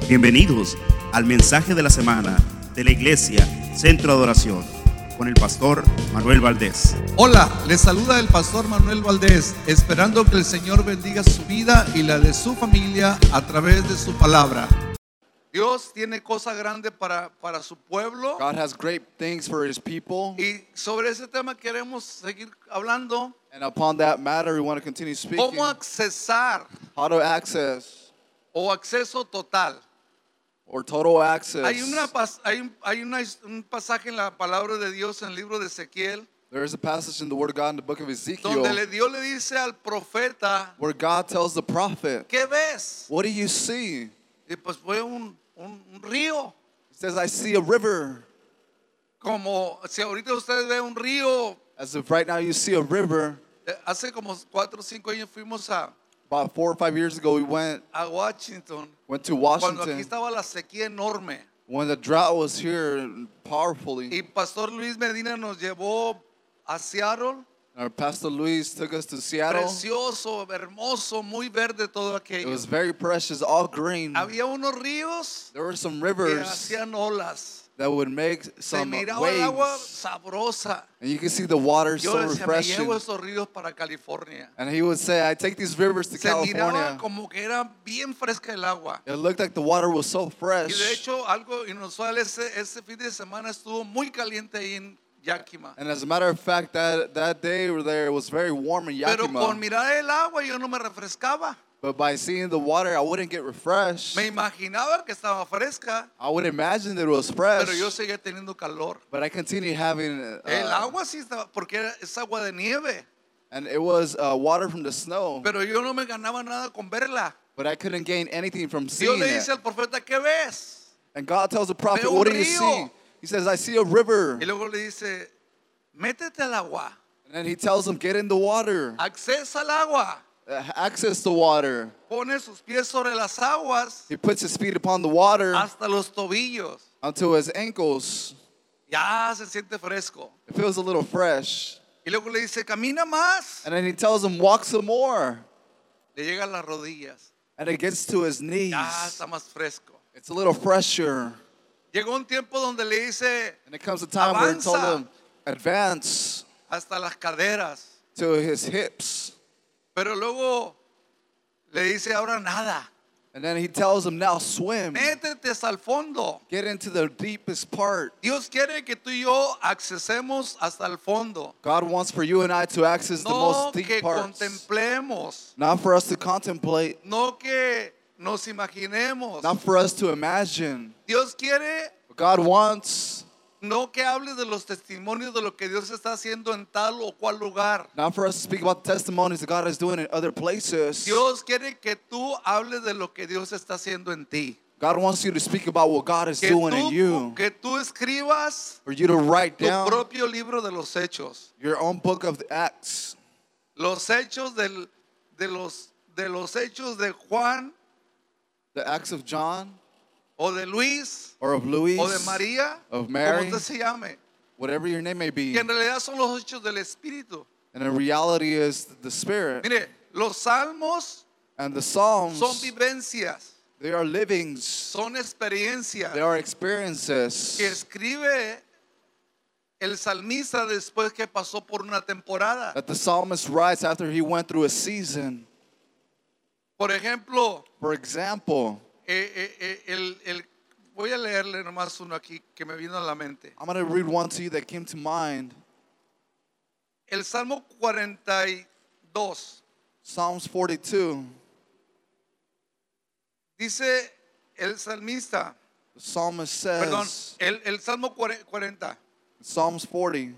Bienvenidos al mensaje de la semana de la Iglesia Centro de Adoración con el pastor Manuel Valdés. Hola, les saluda el pastor Manuel Valdés, esperando que el Señor bendiga su vida y la de su familia a través de su palabra. Dios tiene cosa grande para su pueblo. God has great things for His people. Y sobre ese tema queremos seguir hablando. And upon that matter, we want to continue speaking. ¿Cómo accesar How to access o acceso total? or total access. Hay un pasaje en la palabra de Dios en el libro de Ezequiel There is a passage in the Word of God in the book of Ezekiel donde Dios le dice al profeta, where God tells the prophet, ¿qué ves? what do you see? Y pues fue un río. He says, I see a river. Como si ahorita ustedes ven un río. As if right now you see a river. Hace como 4 o 5 años fuimos a About 4 or 5 years ago, we went Washington. to Cuando aquí Washington estaba la sequía enorme. when the drought was here powerfully. Y Pastor Luis Medina nos llevó a Seattle. Our Pastor Luis took us to Seattle. Precioso, hermoso, muy verde todo It aquello. was very precious, all green. Había unos ríos There were some que rivers hacían olas. that would make Se some miraba el agua waves. sabrosa. And you can see the water Yo so decía, me refreshing. llevo esos ríos para California. And he would say, I take these rivers to Se miraba California. como que era bien fresca el agua. It looked like the water was so Y de fresh. hecho, algo inusual, ese fin de semana estuvo muy caliente ahí en Yakima. And as a matter of fact, that day we were there, it was very warm in Pero con Yakima. mirar el agua yo no me refrescaba. But by seeing the water, I wouldn't get refreshed. Me imaginaba que estaba fresca, I would imagine that it was fresh. pero yo seguía teniendo calor. But I continued having, El agua sí estaba, porque es agua de nieve. and it was water from the snow. Pero yo no me ganaba nada con verla. But I couldn't gain anything from Dios seeing le it. dice al profeta, ¿qué ves? And God tells the prophet, Veo un what do you río. see? He says, I see a river. Y luego le dice, métete al agua, And then he tells him, get in the water. accesa al agua, Access the water. pone sus pies sobre las aguas He puts his feet upon the water hasta los tobillos. until his ankles. Ya se siente fresco. It feels a little fresh. Y luego le dice, camina más. And then he tells him, walk some more. Le llega a las rodillas. And it gets to his knees. Ya está más fresco. It's a little fresher. Llegó un tiempo donde le dice, And it comes a time where it told Avanza. him, advance hasta las caderas. to his hips. Pero luego le dice, ahora nada. And then he tells him, now swim. Métete hasta el fondo. Get into the deepest part. Dios quiere que tú y yo accesemos hasta el fondo. God wants for you and I to access the No most que deep parts. contemplemos. Not for us to contemplate. No que nos imaginemos. Not for us to imagine. Dios quiere God wants no que hables de los testimonios de lo que Dios está haciendo en tal o cual lugar. not for us to speak about the testimonies that God is doing in other places. Dios quiere que tú hables de lo que Dios está haciendo en ti. God wants you to speak about what God is Que doing in you. que tú escribas For you to write tu down propio libro de los hechos. your own book of the Acts. Los hechos de los hechos de Juan The Acts of John o de Luis or of Louis o de María, of como Mary, usted se llame. whatever your name may be. Que en realidad son los hechos del Espíritu. And in reality is the Spirit. Mire, los salmos And the Psalms, son vivencias, they are livings. son experiencias They are experiences que escribe el salmista después que pasó por una temporada. that the psalmist writes after he went through a season. Por ejemplo, For example, voy a leerle nomás uno aquí que me vino a la mente. I'm going to read one to you that came to mind. El Salmo 42 Psalms 42. dice el salmista, The psalmist perdón, says, el Salmo 40, Psalms 40,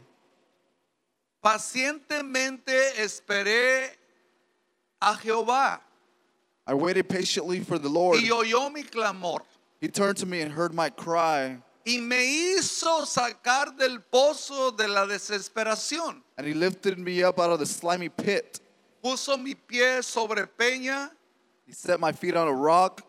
pacientemente esperé a Jehová I waited patiently for the Lord. y oyó mi clamor He turned to me and heard my cry, y me hizo sacar del pozo de la desesperación. and he lifted me up out of the slimy pit. Puso mi pie sobre peña, He set my feet on a rock.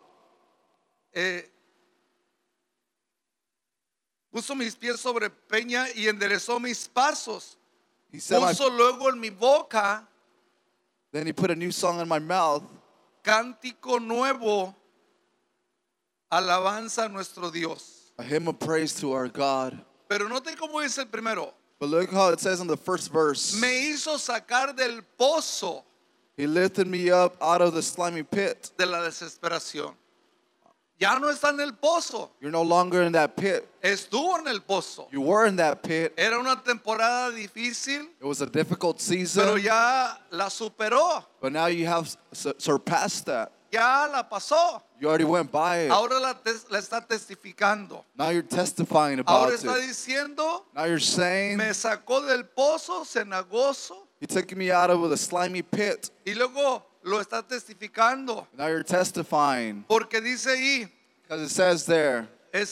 puso mis pies sobre peña y enderezó mis pasos. He set my, Puso luego en mi boca then he put a new song in my mouth, cántico nuevo alabanza a nuestro Dios. A hymn of praise to our God. Pero note cómo dice el primero. But look how it says in the first verse. Me hizo sacar del pozo He lifted me up out of the slimy pit. de la desesperación. Ya no está en el pozo. You're no longer in that pit. Estuvo en el pozo. You were in that pit. Era una temporada difícil, It was a difficult pero season. ya la superó. But now you have surpassed that. Ya la pasó. You already went by it. Ahora la está testificando. Now you're testifying Ahora about está it. diciendo, Now you're saying, me sacó del pozo cenagoso He took me out of the slimy pit. y luego lo está testificando. Now you're testifying. Porque dice ahí, Because it says there,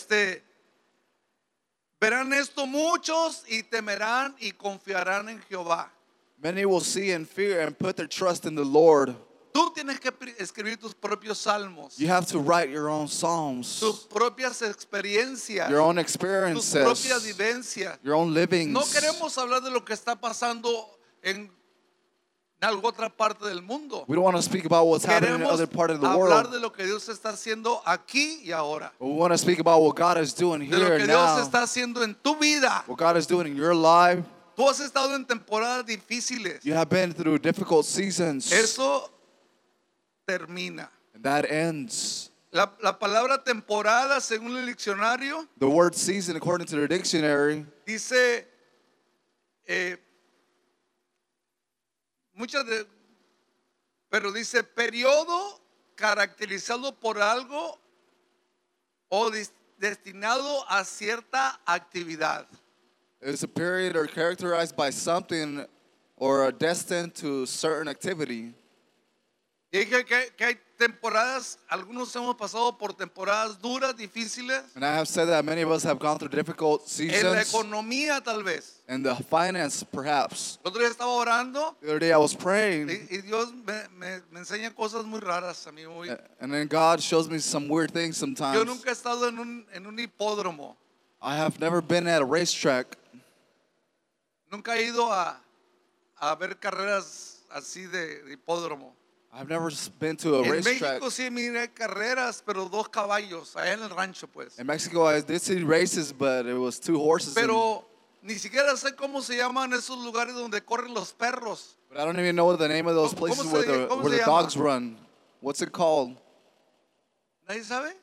verán esto muchos y temerán y confiarán en Jehová. many will see and fear and put their trust in the Lord. Tú tienes que escribir tus propios salmos, You have to write your own psalms, tus propias experiencias, your own tus propias experiences, vivencias. your own livings. No queremos hablar de lo que está pasando en alguna otra parte del mundo. We don't want to speak about what's happening in Queremos other part of the hablar world. de lo que Dios está haciendo aquí y ahora. But we want to speak about what God is doing De lo here que and Dios now. está haciendo en tu vida. What God is doing in your life. Tú has estado en temporadas difíciles. You have been through difficult seasons. Eso termina. And that ends. La palabra temporada, según el diccionario, The word season, according to the dictionary, dice pero dice periodo caracterizado por algo o destinado a cierta actividad. is a period or characterized by something or are destined to certain activity. Y dije que hay temporadas, algunos hemos pasado por temporadas duras, difíciles, And I have said that many of us have gone through difficult en la seasons. economía tal vez. And the finance, perhaps. El otro día estaba orando The other day I was praying, y Dios me enseña cosas muy raras a mí. and then God shows me some weird things Yo sometimes. nunca he estado en un hipódromo, I have never been at a racetrack. nunca he ido a ver carreras así de hipódromo. I've never been to a En racetrack. México sí miré carreras, pero 2 caballos, allá en el rancho pues. In Mexico, I did see races, but it was 2 horses. Pero ni siquiera sé cómo se llaman esos lugares donde corren los perros. But I don't even know the name of those ¿Cómo places se- where the, cómo where se the llama? dogs run. What's it called? ¿Nadie sabe?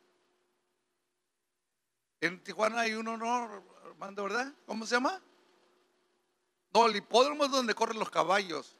En Tijuana hay uno, ¿no, Armando, verdad? ¿Cómo se llama? No, el hipódromo es donde corren los caballos.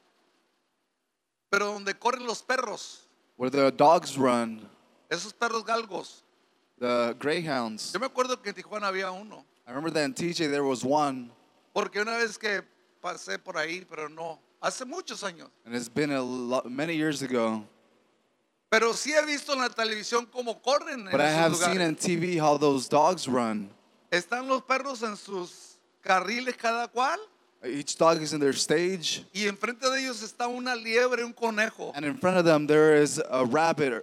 Pero donde corren los perros, Where the dogs run, esos perros galgos. the greyhounds. Yo me acuerdo que en Tijuana había uno. I remember that in TJ there was one, Porque una vez que pasé por ahí, pero no. Hace muchos años. and it's been many years ago. Pero sí he visto en la televisión cómo corren en But I have esos seen lugares. on TV how those dogs run. Están los perros en sus carriles cada cual. Each dog is in their stage, Y enfrente de ellos está una liebre, un conejo. and in front of them there is a rabbit.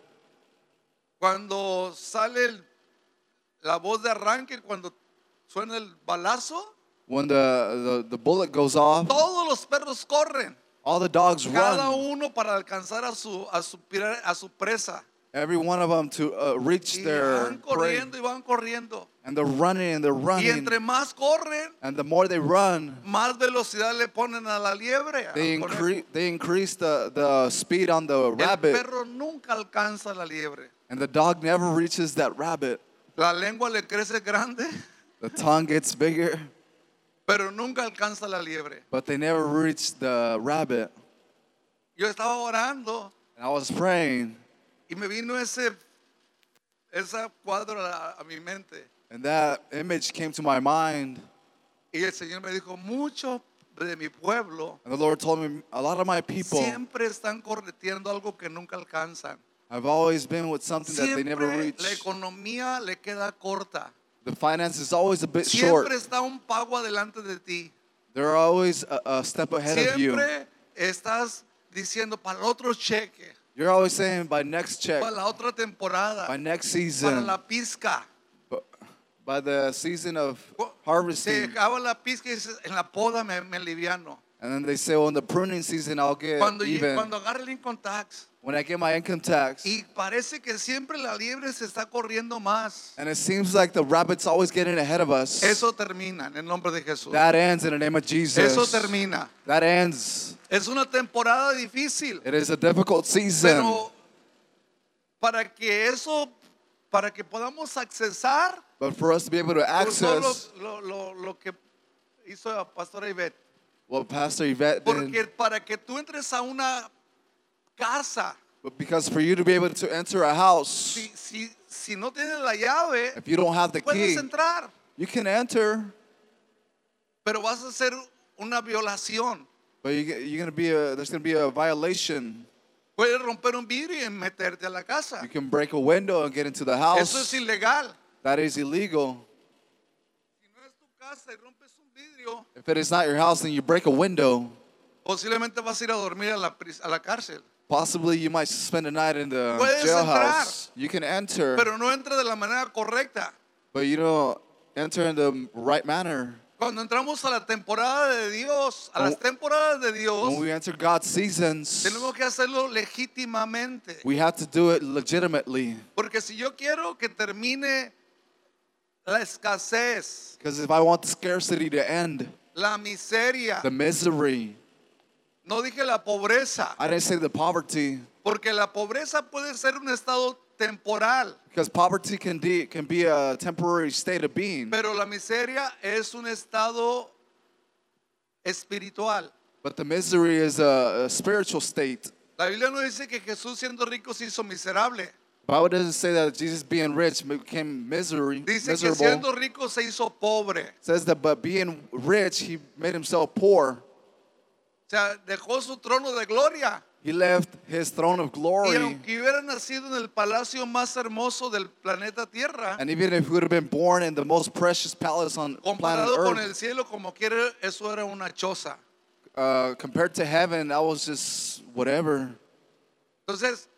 Cuando sale la voz de arranque, cuando suena el balazo, When the bullet goes off, todos los perros corren, all the dogs cada run. uno para alcanzar a su presa. Every one of them to reach Y their van prey. corriendo y van corriendo. And they're running and they're Y running. entre más corren, And the more they run, más velocidad le ponen a la liebre. they al conejo. increase the speed on the El rabbit. perro nunca alcanza la liebre. And the dog never reaches that rabbit. La lengua le crece grande, The tongue gets bigger, pero nunca alcanza la liebre. but they never reach the rabbit. Yo estaba orando And I was praying, y me vino ese cuadro a mi mente. and that image came to my mind. Y el Señor me dijo, muchos de mi pueblo And the Lord told me, a lot of my people siempre están correteando algo que nunca alcanzan. have always been with something that they never Siempre reach. la economía le queda corta. The finance is always a bit short. Siempre está un pago adelante de ti. They're always a step ahead of you. Siempre estás diciendo para el otro cheque, You're always saying by next check, para la otra temporada, by next para season, la pizca. by the season of Se harvesting. acaba la pizca y dices, en la poda me aliviano. And then they say, well, in the pruning season, I'll get Cuando even. agarre el income tax, When I get my income tax, y parece que siempre la liebre se está corriendo más. and it seems like the rabbit's always getting ahead of us, Eso termina en el nombre de Jesús. that ends in the name of Jesus. Eso termina. That ends. Es una temporada difícil, It is a difficult season. pero para que podamos accesar But for us to be able to por todo access lo que hizo la pastora Ivette, what Pastor Yvette did, porque para que tú entres a una casa, but because for you to be able to enter a house, si no tienes la llave, if you don't have the puedes key, entrar, you can enter, pero vas a hacer una violación. but there's gonna be a violation. Puedes romper un vidrio y meterte a la casa. You can break a window and get into the Eso es house. ilegal. That is illegal. Si no es tu casa y rompes un vidrio, If it is not your house and you break a window, posiblemente vas a ir a dormir a la cárcel. possibly you might spend the night in the Puedes jailhouse. You can enter, Pero no entra de la manera correcta. but you don't enter in the right manner. Cuando entramos a la temporada de Dios, a las temporadas de Dios, When we enter God's seasons, tenemos que hacerlo legítimamente. we have to do it legitimately. Porque si yo quiero que termine la escasez, Because if I want the scarcity to end, la miseria, the misery, no dije la pobreza, I didn't say the poverty, porque la pobreza puede ser un estado temporal, because poverty can be a temporary state of being, pero la miseria es un estado espiritual. but the misery is a spiritual state. La Biblia no dice que Jesús siendo rico se hizo miserable. The Bible doesn't say that Jesus being rich became Dice que miserable. siendo rico se hizo pobre. It says that but being rich, he made himself poor. O sea, dejó su trono de gloria. He left his throne of Y glory. aunque hubiera nacido en el palacio más hermoso del planeta Tierra, And even if he would have been born in the most precious palace on planet comparado con el Earth, cielo, como quiera, eso era una choza. compared to heaven, that was just whatever. Entonces,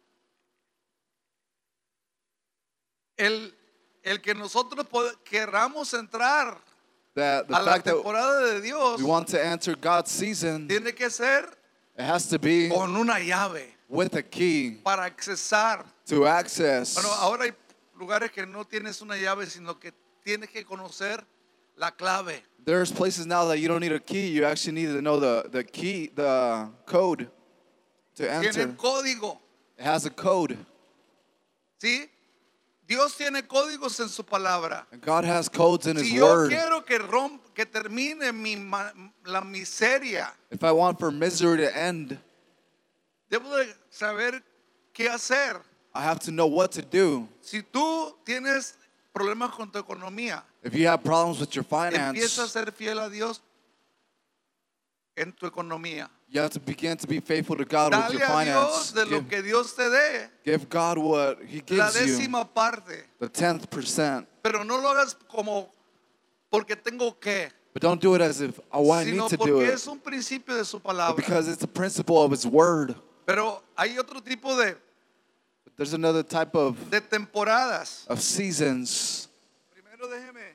el que nosotros querramos entrar That the a la fact that temporada de Dios we want to enter God's season, tiene que ser it has to be con una llave with a key para accesar. to access. Bueno, ahora hay lugares que no tienes una llave, sino que tienes que conocer la clave. There's places now that you don't need a key. You actually need to know the key, the code to enter. Tiene código, It has a code. ¿sí? Dios tiene códigos en su palabra. And God has codes in His Si yo Word. quiero que termine la miseria, If I want for misery to end, debo de saber qué hacer. I have to know what to do. Si tú tienes problemas con tu economía, If you have problems with your empieza a finance, ser fiel a Dios en tu economía. you have to begin to be faithful to God with Dale your a Dios finance. de lo que Dios te dé, Give God what He la gives you, décima parte. the 10%. Pero no lo hagas como porque tengo que, But don't do it as if, oh, I sino need to do porque it. es un principio de su But palabra. because it's the principle of His Word. Pero hay otro tipo There's another type of temporadas. seasons. Primero déjeme.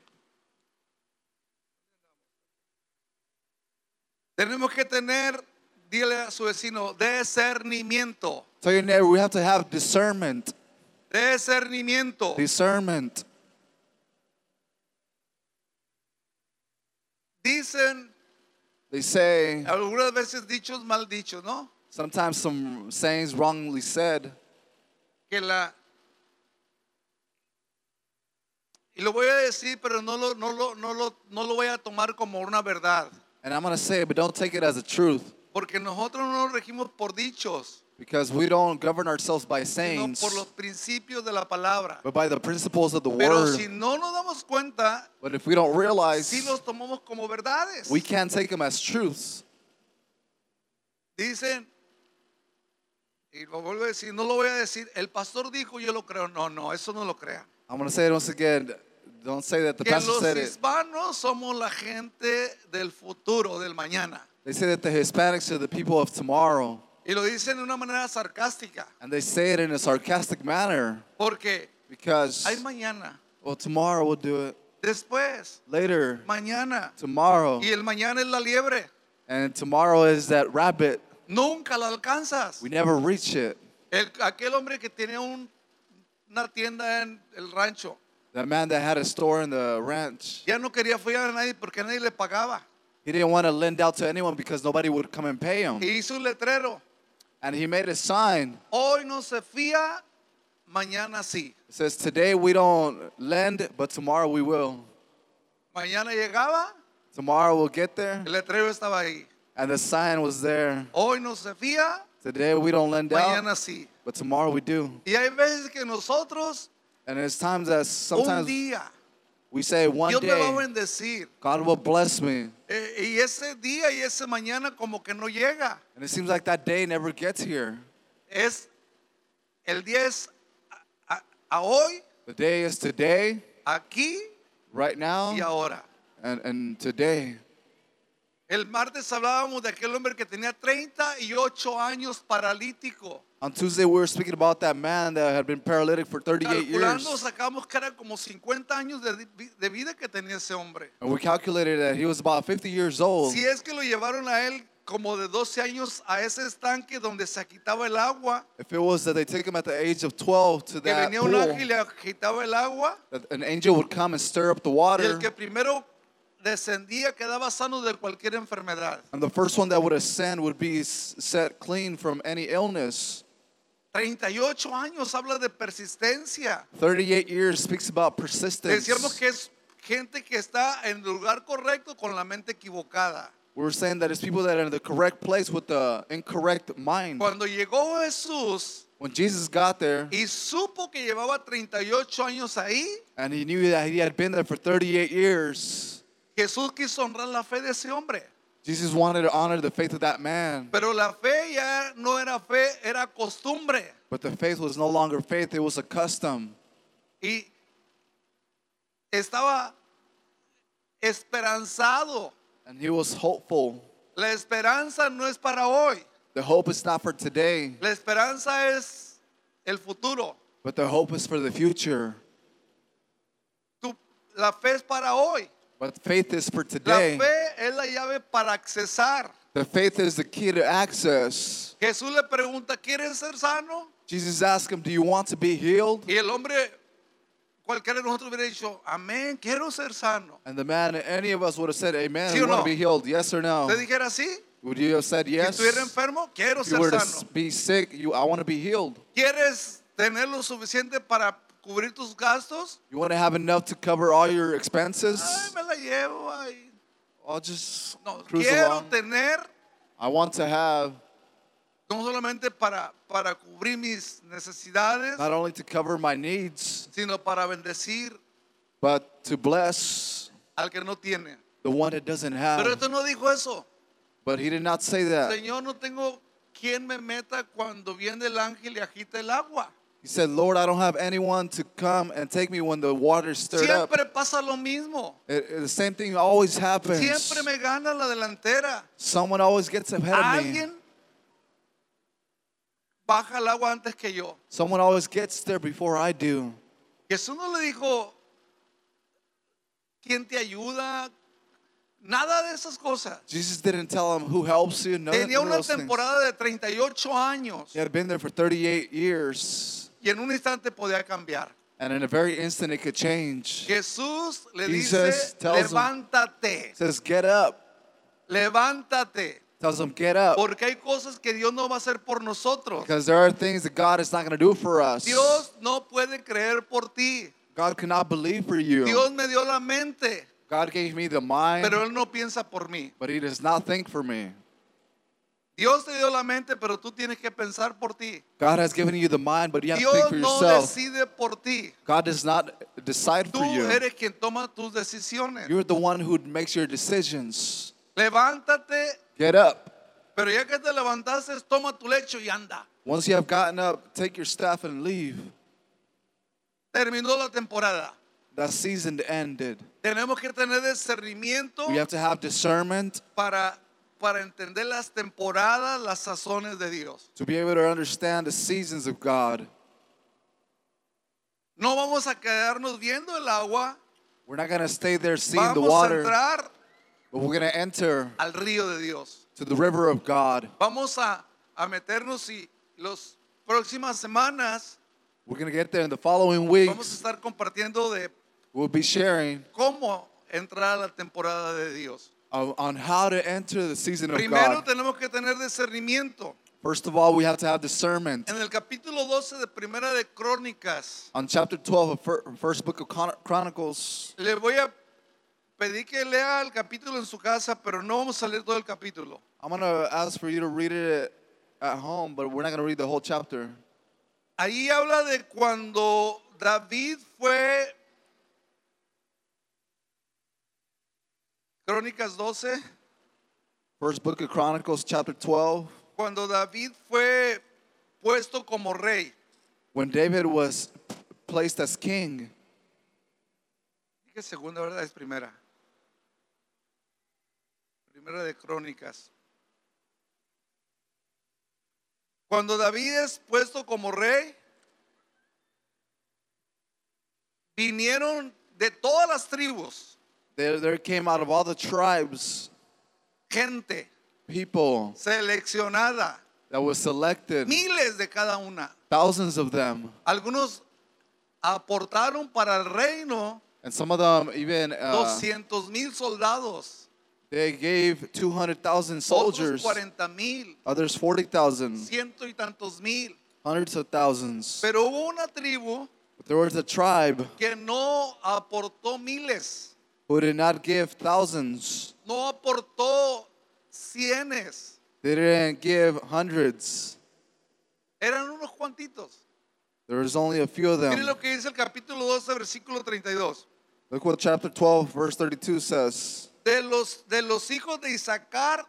Tenemos que tener, dile a su vecino, discernimiento. Tell your neighbor, we have to have discernment. Discernimiento. Discernment. Dicen They say, algunas veces dichos mal dichos, ¿no? sometimes some sayings wrongly said, Que y lo voy a decir, pero no lo voy a tomar como una verdad. and I'm going to say it, but don't take it as a truth. Porque nosotros no nos regimos por dichos, Because we don't govern ourselves by sino sayings, por los principios de la palabra. but by the principles of the Pero Word. si no nos damos cuenta, But if we don't realize, sí los tomamos como verdades. we can't take them as truths. Dicen, y lo vuelvo a decir, no lo voy a decir, el pastor dijo, yo lo creo. No, eso no lo crean. I'm going to say it once again. Don't say that the Que pastor los said it. hispanos somos la gente del futuro, del mañana. They say that the Hispanics are the people of tomorrow. Y lo dicen de una manera sarcástica. And they say it in a sarcastic manner. Porque Because, hay mañana, well, tomorrow we'll do it. después, Later, mañana. tomorrow. Y el mañana es la liebre. And tomorrow is that rabbit. Nunca la alcanzas. We never reach it. Aquel hombre que tenía una tienda en el rancho, That man that had a store in the ranch, ya no quería fiar a nadie porque nadie le pagaba. he didn't want to lend out to anyone because nobody would come and pay him. Y hizo un letrero: And he made a sign. hoy no se fía, mañana sí. It says, today we don't lend, but tomorrow we will. Mañana llegaba, Tomorrow we'll get there. el letrero estaba ahí: And the sign was there. hoy no se fía, Today we don't lend out, mañana sí. but tomorrow we do. Y hay veces que nosotros And there's times that un sometimes día we say, one Dios me va a day, bendecir, God will bless me. y ese día y ese mañana como que no llega. And it seems like that day never gets here. El día es a hoy, The day is today, aquí right now, y ahora. and today. El martes hablábamos de aquel hombre que tenía 38 años paralítico. On Tuesday, we were speaking about that man that had been paralytic for 38 Calculando, years. sacamos que era como 50 años de vida que tenía ese hombre. And we calculated that he was about 50 years old. Si es que lo llevaron a él como de 12 años a ese estanque donde se agitaba el agua, If it was that they took him at the age of 12 to que that venía un pool, ángel y le agitaba el agua, that an angel would come and stir up the y water, el que primero descendía quedaba sano de cualquier enfermedad. and the first one that would ascend would be set clean from any illness. 38 años habla de persistencia. 38 years speaks about persistence. Decíamos que es gente que está en el lugar correcto con la mente equivocada. We're saying that it's people that are in the correct place with the incorrect mind. Cuando llegó Jesús When Jesus got there, y supo que llevaba 38 años ahí, and he knew that he had been there for 38 years, Jesús quiso honrar la fe de ese hombre. Jesus wanted to honor the faith of that man. Pero la fe ya no era fe, era costumbre. But the faith was no longer faith, it was a custom. Y estaba esperanzado. And he was hopeful. La esperanza no es para hoy. The hope is not for today, La esperanza es el futuro. but the hope is for the future. La fe es para hoy. But faith is for La today. fe es la llave para accesar. The faith is the key to access. Jesús le pregunta: ¿quieres ser sano? Jesus asked him, do you want to be healed? Y el hombre, cualquiera de nosotros hubiera dicho: amén, quiero ser sano. And the man, any of us would have said, amen, ¿Sí we o want no? to be healed, yes or no? ¿Usted dijera así? Would you have said Si yes? estuviera enfermo, quiero If you ser were to sano. be sick, I want to be healed. ¿Quieres tener lo suficiente para cubrir tus gastos? You want to have enough to cover all your Ay, expenses? me la llevo. Ay. I'll just No, cruise quiero along. tener I want to have no solamente para cubrir mis necesidades, not only to cover my needs, sino para bendecir but to bless al que no tiene. the one that doesn't Pero have. esto no dijo eso. But he did not say that. Señor, no tengo quien me meta cuando viene el ángel y agita el agua. He said, Lord, I don't have anyone to come and take me when the water's stirred up. Siempre pasa lo mismo. The same thing always happens. Siempre me gana la delantera. Someone always gets ahead of me. Alguien baja el agua antes que yo. Someone always gets there before I do. Jesús no le dijo: ¿quién te ayuda? Nada de esas cosas. Jesus didn't tell him who helps you. None Tenía of una those things. temporada de 38 años He had been there for 38 years. y en un instante podía cambiar. And in a very instant, it could change. Jesús le Jesus dice: tells him- levántate, He says, get up. levántate. Tells him, get up. Porque hay cosas que Dios no va a hacer por nosotros. Because there are things that God is not going to do for us. Dios no puede creer por ti. God cannot believe for you. Dios me dio la mente, God gave me the mind, pero Él no piensa por mí. but he does not think for me. Dios te dio la mente, pero tú tienes que pensar por ti. God has given you the mind, but you have to Dios think for no yourself. decide por ti. God does not decide Tú for you. eres quien toma tus decisiones. You're the one who makes your decisions. Levántate, Get up. pero ya que te levantaste, toma tu lecho y anda. Once you have gotten up, take your staff and leave. Terminó la temporada. That season ended. Tenemos que tener discernimiento We have to have discernment para entender las temporadas, las sazones de Dios. to be able to understand the seasons of God. No vamos a quedarnos viendo el agua, We're not going to stay there seeing the vamos a water, entrar but we're going to enter al río de Dios. to the river of God. Vamos a meternos y los próximas semanas We're going to get there in the following vamos a weeks. estar compartiendo de We'll be sharing cómo entrar a la temporada de Dios. on how to enter the season of Primero God. tenemos que tener discernimiento. First of all, we have to have discernment. En el capítulo 12 de Primera de Crónicas, On chapter 12 of first book of Chronicles, le voy a pedir que lea el capítulo en su casa, pero no vamos a leer todo el capítulo. I'm going to ask for you to read it at home, but we're not going to read the whole chapter. Ahí habla de cuando David fue, Crónicas 12, First book of Chronicles, chapter 12. cuando David fue puesto como rey. When David was placed as king, Dije segunda, ¿verdad? Es primera. Primera de Crónicas. Cuando David es puesto como rey, vinieron de todas las tribus, there came out of all the tribes gente people seleccionada, that was selected, miles de cada una. thousands of them. Algunos aportaron para el reino And some of them even 200,000 soldados, they gave 200,000 otros soldiers, 40,000, others 40,000, ciento y tantos mil. hundreds of thousands. Pero hubo una tribu But there was a tribe que no aportó miles, who did not give thousands. no aportó cienes, They didn't give hundreds. eran unos cuantitos. There was only a few of Miren them. lo que dice el capítulo 12, versículo 32. Look what chapter 12, verse 32 says. De los hijos de Isaacar,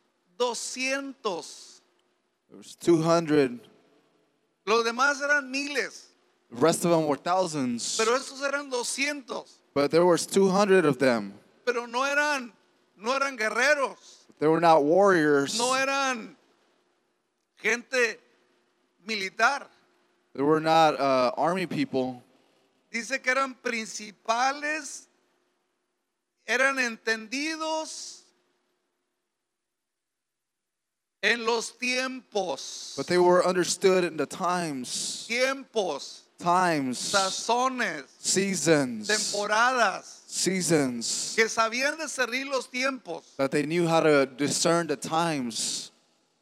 200. There was 200. Los demás eran miles, The rest of them were thousands. pero estos eran 200. But there was 200 of them. Pero no eran guerreros, They were not warriors. no eran gente militar. They were not army people. Dice que eran principales, eran entendidos en los tiempos, But they were understood in the times, sazones, seasons, temporadas, que sabían discernir los tiempos. that they knew how to discern the times.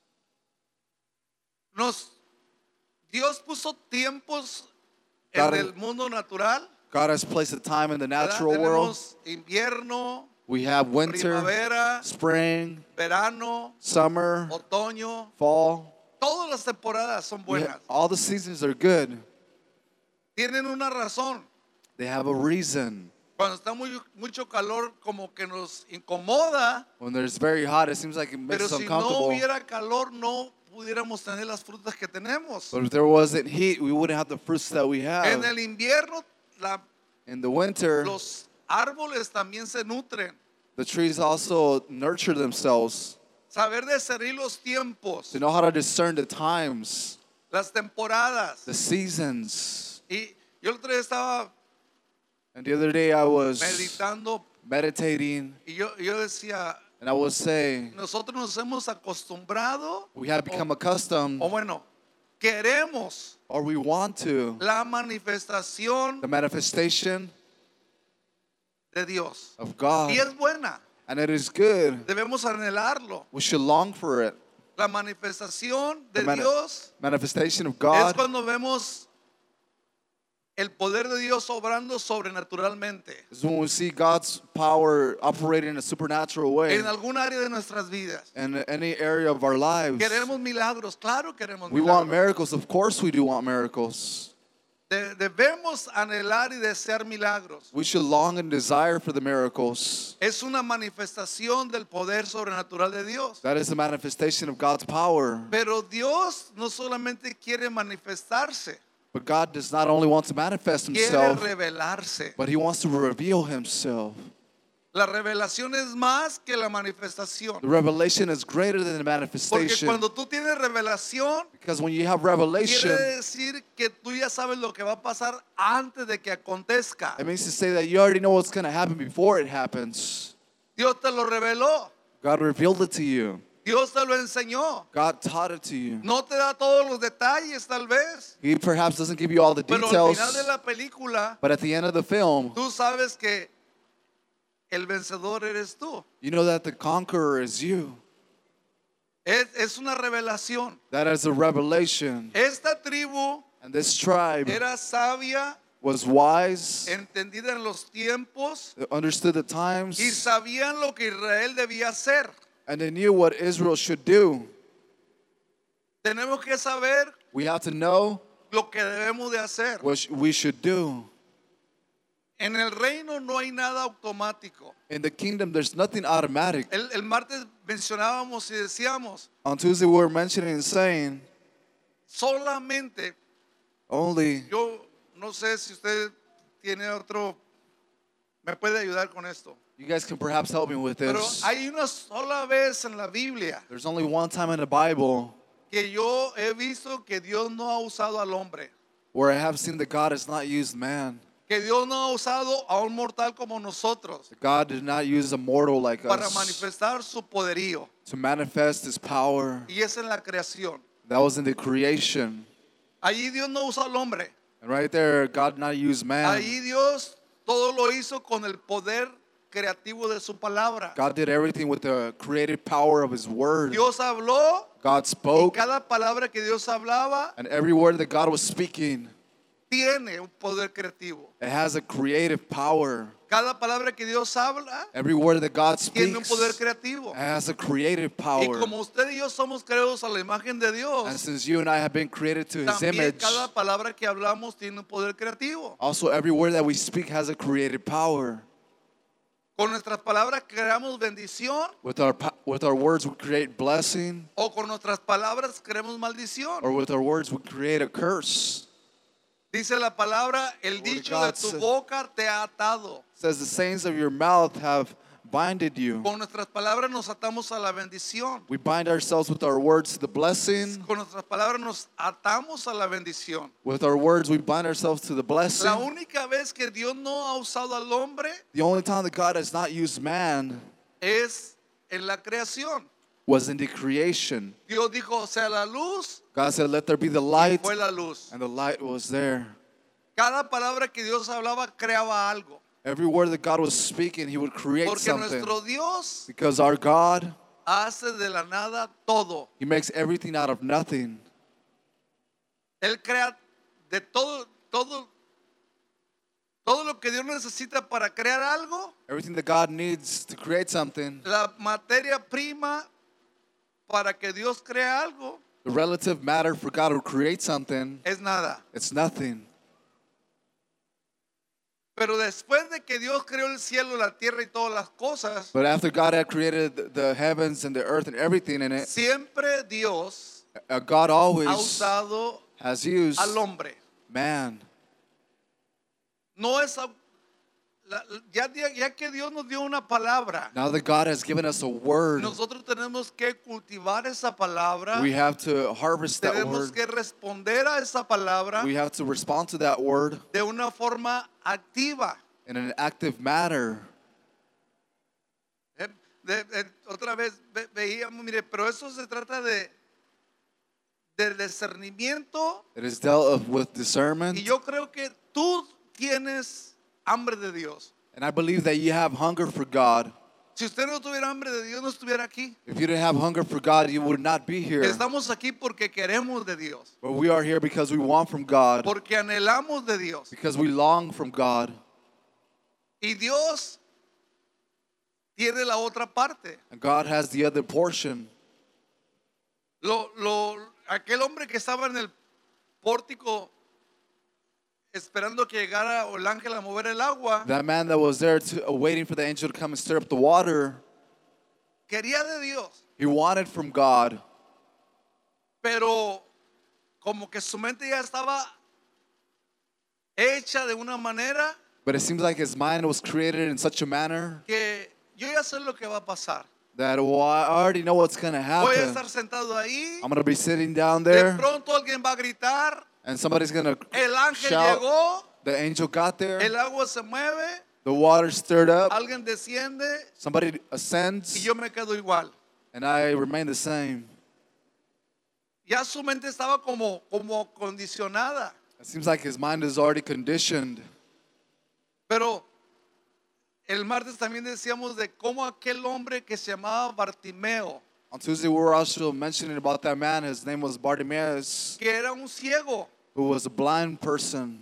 Dios puso tiempos God- en el mundo natural. God has placed a time in the ¿verdad? natural world. Tenemos invierno, We have winter, primavera, spring, verano, summer, otoño. fall. Todas las temporadas son buenas. All the seasons are good. Tienen una razón. They have a reason. Cuando está mucho calor, como que nos incomoda. When there's very hot, it seems like it makes Pero us si no uncomfortable. hubiera calor, no pudiéramos tener las frutas que tenemos. But if there wasn't heat, we wouldn't have the fruits that we En have. el invierno, In the winter, los árboles también se nutren. the trees also nurture themselves Saber discernir los tiempos, to know how to discern the times, las temporadas. the seasons. Y yo el otro día estaba And the other day I was meditando meditating y yo decía, and I was saying, nosotros nos hemos acostumbrado, we have become accustomed, o bueno, queremos or we want to, la manifestación the manifestation de Dios. of God. Y es buena, And it is good. debemos anhelarlo. We should long for it. La manifestación de The Dios manifestation of es God cuando vemos el poder de Dios obrando sobrenaturalmente is when we see God's power operating in a supernatural way en algún área de nuestras vidas. in any area of our lives. Queremos milagros, claro queremos We want milagros. miracles. Of course we do want miracles. Debemos anhelar y desear milagros. We should long and desire for the miracles. Es una manifestación del poder sobrenatural de Dios. That is the manifestation of God's power. Pero Dios no solamente quiere manifestarse, But God does not only want to manifest quiere himself, revelarse. but he wants to reveal himself. La revelación es más que la manifestación. The revelation is greater than the Porque manifestation. cuando tú tienes revelación, Because when you have quiere revelation, decir que tú ya sabes lo que va a pasar antes de que acontezca. it means to say that you already know what's going to happen before it happens. Dios te lo reveló. God revealed it to you. Dios te lo enseñó. God taught it to you. No te da todos los detalles tal vez, He perhaps doesn't give you all the pero al final de details, la película but at the end of the film, tú sabes que el vencedor eres tú. you know that the conqueror is you. Es una revelación. That is a revelation. Esta tribu And this tribe era sabia, was wise, entendida en los tiempos understood the y times, sabían lo que Israel debía hacer. and they knew what Israel should do. Tenemos que saber We have to know lo que debemos de hacer. what we should do. En el reino no hay nada automático. In the kingdom, there's nothing automatic. El martes mencionábamos y decíamos, On Tuesday, we were mentioning and saying, solamente, only, yo no sé si usted tiene otro, me puede ayudar con esto, you guys can perhaps help me with pero this. hay una sola vez en la Biblia There's only one time in the Bible que yo he visto que Dios no ha usado al hombre, where I have seen that God has not used man. que Dios no ha usado a un mortal como nosotros God did not use a mortal like para us manifestar su poderío, to manifest his power. y es en la creación. That was in the creation. Allí Dios no usa al hombre. And right there, God did not use man. Ahí Dios todo lo hizo con el poder creativo de su palabra. God did everything with the creative power of his word. Dios habló God y spoke, cada palabra que Dios hablaba and every word that God was speaking, tiene un poder creativo. it has a creative power. Cada palabra que Dios habla Every word that God tiene un speaks poder creativo. has a creative Y power. como usted y yo somos creados a la imagen de And Dios, since you and I have been created to his también image, cada palabra que hablamos tiene un poder creativo. also every word that we speak has a creative power. Con nuestras palabras creamos bendición With our words, we create blessing, o con nuestras palabras creamos maldición. or with our words, we create a curse. Dice la palabra, el of dicho de God tu says- boca te ha atado. It says the sayings of your mouth have binded you. Con nuestras palabras nos atamos a la bendición. We bind ourselves with our words to the blessing. Con nuestras palabras nos atamos a la bendición. With our words, we bind ourselves to the blessing. La única vez que Dios no ha usado al hombre The only time that God has not used man es en la creación. was in the creation. Dios dijo, sea la luz, God said, let there be the light, fue la luz. and the light was there. Cada palabra que Dios hablaba creaba algo. Every word that God was speaking, he would create Porque something. nuestro Dios Because our God, hace de la nada todo. he makes everything out of nothing. Él crea de todo lo que Dios necesita para crear algo. Everything that God needs to create something, La materia prima para que Dios cree algo the relative matter for God to create something, es nada. it's nothing. Pero después de que Dios creó el cielo, la tierra y todas las cosas, But after God had created the heavens and the earth and everything in it, siempre Dios God ha always usado has used al hombre. man. No es ya que Dios nos dio una palabra, Now that God has given us a word, nosotros tenemos que cultivar esa palabra, we have to harvest that tenemos word. que responder a esa palabra We have to respond to that word de una forma activa. in an active manner. Otra vez veíamos, mire, pero eso se trata del discernimiento, It is dealt with y discernment. yo creo que tú tienes hambre de Dios. And I believe that you have hunger for God. Si usted no tuviera hambre de Dios, no estuviera aquí. If you didn't have hunger for God, you would not be here. Estamos aquí porque queremos de Dios, But we are here because we want from God, porque anhelamos de Dios. because we long from God. Y Dios tiene la otra parte. And God has the other portion. Aquel hombre que estaba en el pórtico esperando que llegara el ángel a mover el agua, That man that was there waiting for the angel to come and stir up the water, quería de Dios, he wanted from God. pero como que su mente ya estaba hecha de una manera But it seems like his mind was created in such a manner que yo ya sé lo que va a pasar. that, well, I already know what's going to Voy a happen. estar sentado ahí, I'm going to be sitting down de there, pronto alguien va a gritar, and somebody's going to el ángel shout. llegó, The angel got there, el agua se mueve, the water stirred up, alguien desciende somebody y ascends, yo me quedo igual. and I remained the same. Ya su mente estaba como condicionada. It seems like his mind is already conditioned. Pero el martes también decíamos de cómo aquel hombre que se llamaba Bartimeo, On Tuesday, we were also mentioning about that man. His name was Bartimaeus, que era un ciego. who was a blind person.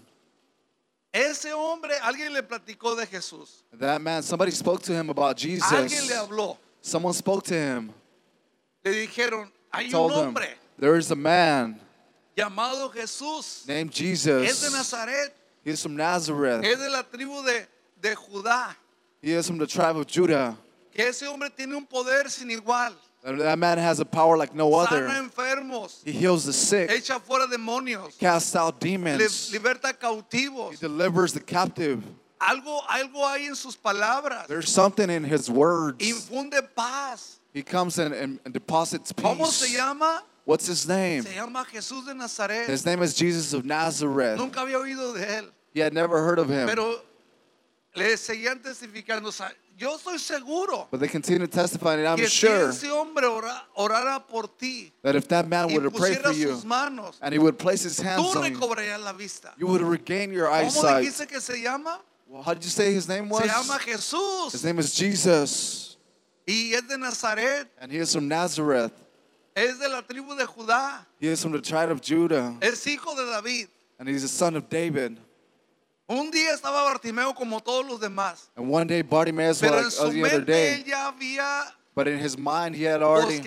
Ese hombre, alguien le platicó de Jesús. That man, somebody spoke to him about Alguien le Jesus. habló. Someone spoke to him, Le dijeron, hay un told him, hombre there is a man llamado Jesús. named Es de Jesus. Nazaret. He is from Nazareth. Es de la tribu de Judá. He is from the tribe of Judah. Que ese hombre tiene un poder sin igual. And that man has a power like no Sana other. enfermos. He heals the sick, Echa fuera demonios. casts out demons, Liberta he cautivos. delivers the captive. Algo hay en sus palabras. There's something in his words. Infunde paz. He comes in and deposits ¿Cómo se peace. llama? What's his name? Se llama Jesús de Nazaret. His name is Jesus of Nazareth. Nunca había oído de él. He had never heard of him. Pero le seguían testificando. O sea, yo estoy seguro But they continue testifying, and I'm que sure si ese hombre orara por ti that if that man y would have prayed for pusiera you sus manos, and he would place his tú hands on you, recobrarías la vista. you would regain your ¿Cómo eyesight. dijiste que se llama? Well, how did you say his name was? Se llama His Jesús name is Jesus, y es de Nazaret. and he is from Nazareth. Es de la tribu de Judá. He is from the tribe of Judah, Es hijo de David. and he's the son of David. Un día estaba Bartimeo como todos los demás. And one day Bartimaeus Pero en was su like the other mente él day, ya había but in his mind he had already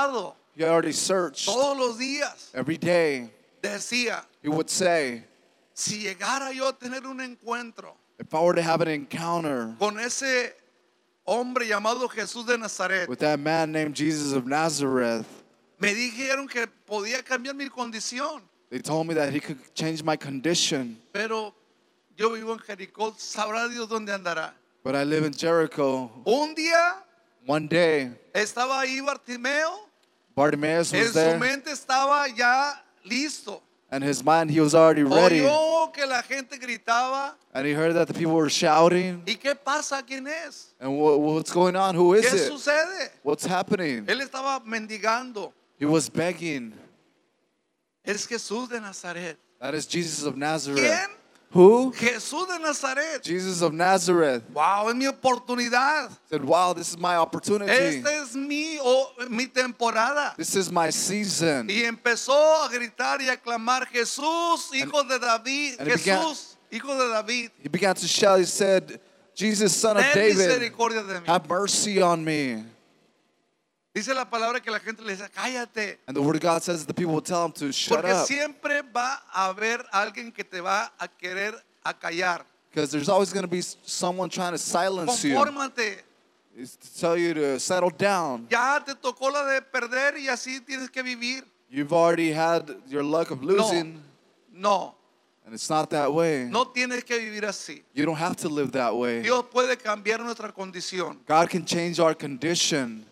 searched todos los días. every day. Decía, He would say, si llegara yo a tener un encuentro if I were to have an encounter con ese hombre llamado Jesús de Nazaret, with that man named Jesus of Nazareth, me dijeron que podía cambiar mi condición. they told me that he could change my condition. Pero yo vivo en Jericó, sabrá Dios dónde andará. But I live in Jericho. Un día One day, estaba ahí Bartimeo, Bartimaeus en was su there, mente estaba ya listo. and his mind, he was already ready. Oyó que la gente gritaba. And he heard that the people were shouting. ¿Y qué pasa? ¿Quién es? And what's going on? Who is ¿Qué it? sucede? What's happening? Él estaba mendigando. He was begging. Es Jesús de Nazaret. That is Jesus of Nazareth. ¿Quién? Who? Jesús de Nazaret. Jesus of Nazareth. Wow, es mi oportunidad. Said, wow, this is my opportunity. Esta es mi temporada. This is my season. Y empezó a gritar y a clamar, Jesús, hijo de David. and he began- Jesús, hijo de David. He began to shout. He said, Jesus, son of Ten David, misericordia de mí. have mercy on me. Dice la palabra que la gente le dice, cállate. And the word of God says the people will tell him to shut Porque up. siempre va a haber alguien que te va a querer acallar. Because there's always going to be someone trying to silence you. Confórmate. It's to tell you to settle down. Ya te tocó la de perder y así tienes que vivir. You've already had your luck of losing. No, And it's not that way. no tienes que vivir así. You don't have to live that way. Dios puede cambiar nuestra condición. God can change our condition.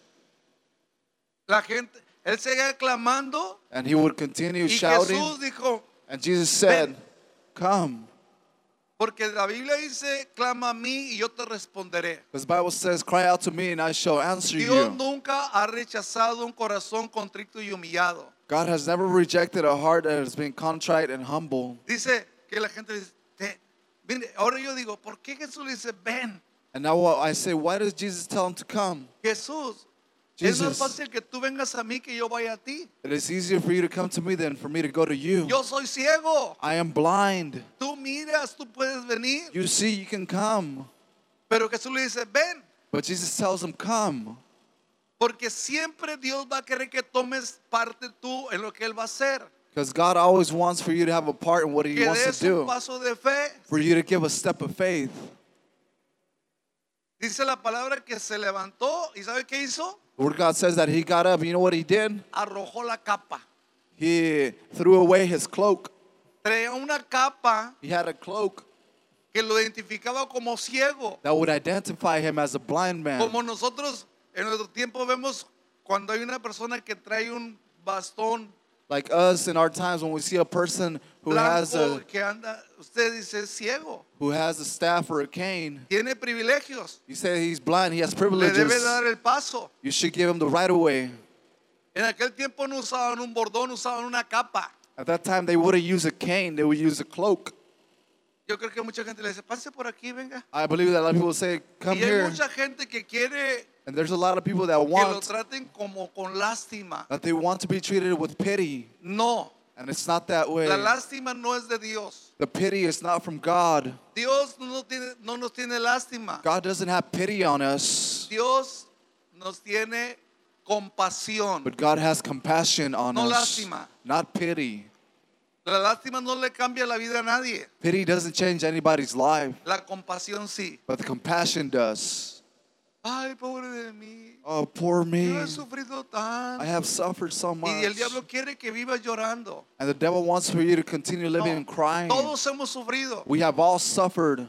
La gente, él seguía clamando And he would continue y shouting. Jesús dijo, And Jesus said, come. porque la Biblia dice, clama a mí y yo te responderé. Because the Bible says, cry out to me and I shall answer Dios you. nunca ha rechazado un corazón contrito y humillado. God has never rejected a heart that has been contrite and humble. Dice que la gente dice, mire, ahora yo digo, ¿por qué Jesús le dice, ven? And now I say, why does Jesus tell him to come? Jesús, es más Jesus, fácil que tú vengas a mí que yo vaya a ti. it is easier for you to come to me than for me to go to you. Yo soy ciego. I am blind. Tú miras, tú puedes venir. You see, you can come. Pero Jesús le dice, ven. But Jesus tells him, come. Porque siempre Dios va a querer que tomes parte tú en lo que Él va a hacer. Because God always wants for you to have a part in what he Que wants des to un do. paso de fe. For you to give a step of faith. Dice la palabra que se levantó y ¿sabe qué hizo? The word of God says that he got up. You know what he did? Arrojó la capa. He threw away his cloak. Traía una capa He had a cloak que lo identificaba como ciego. that would identify him as a blind man. Como nosotros en nuestro tiempo vemos cuando hay una persona que trae un bastón Like us in our times when we see a person who has Blanco a que anda, usted dice es ciego, staff or a cane, tiene privilegios, you say he's blind, he has le debe privileges. dar el paso. You should give him the right of way. En aquel tiempo no usaban un bordón, usaban una capa. At that time, they wouldn't use a cane, they would use a cloak. Yo creo que mucha gente le dice, pase por aquí, venga. I believe that a lot of people say, come Y hay here. mucha gente que quiere And there's a lot of people that que lo want, traten como con lástima. that they want to be treated with pity. No, And it's not that way. la lástima no es de Dios. The pity is not from God. Dios no nos tiene lástima. God doesn't have pity on us, Dios nos tiene compasión. but God has compassion on No us, lástima. not pity. La lástima no le cambia la vida a nadie. Pity doesn't change anybody's life, La compasión sí. but the compassion does. Ay, pobre de mí. Oh, poor me. Yo he sufrido I tanto. have suffered so much. Y el diablo quiere que vivas llorando. And the devil wants for you to continue living and crying. Todos hemos sufrido. We have all suffered.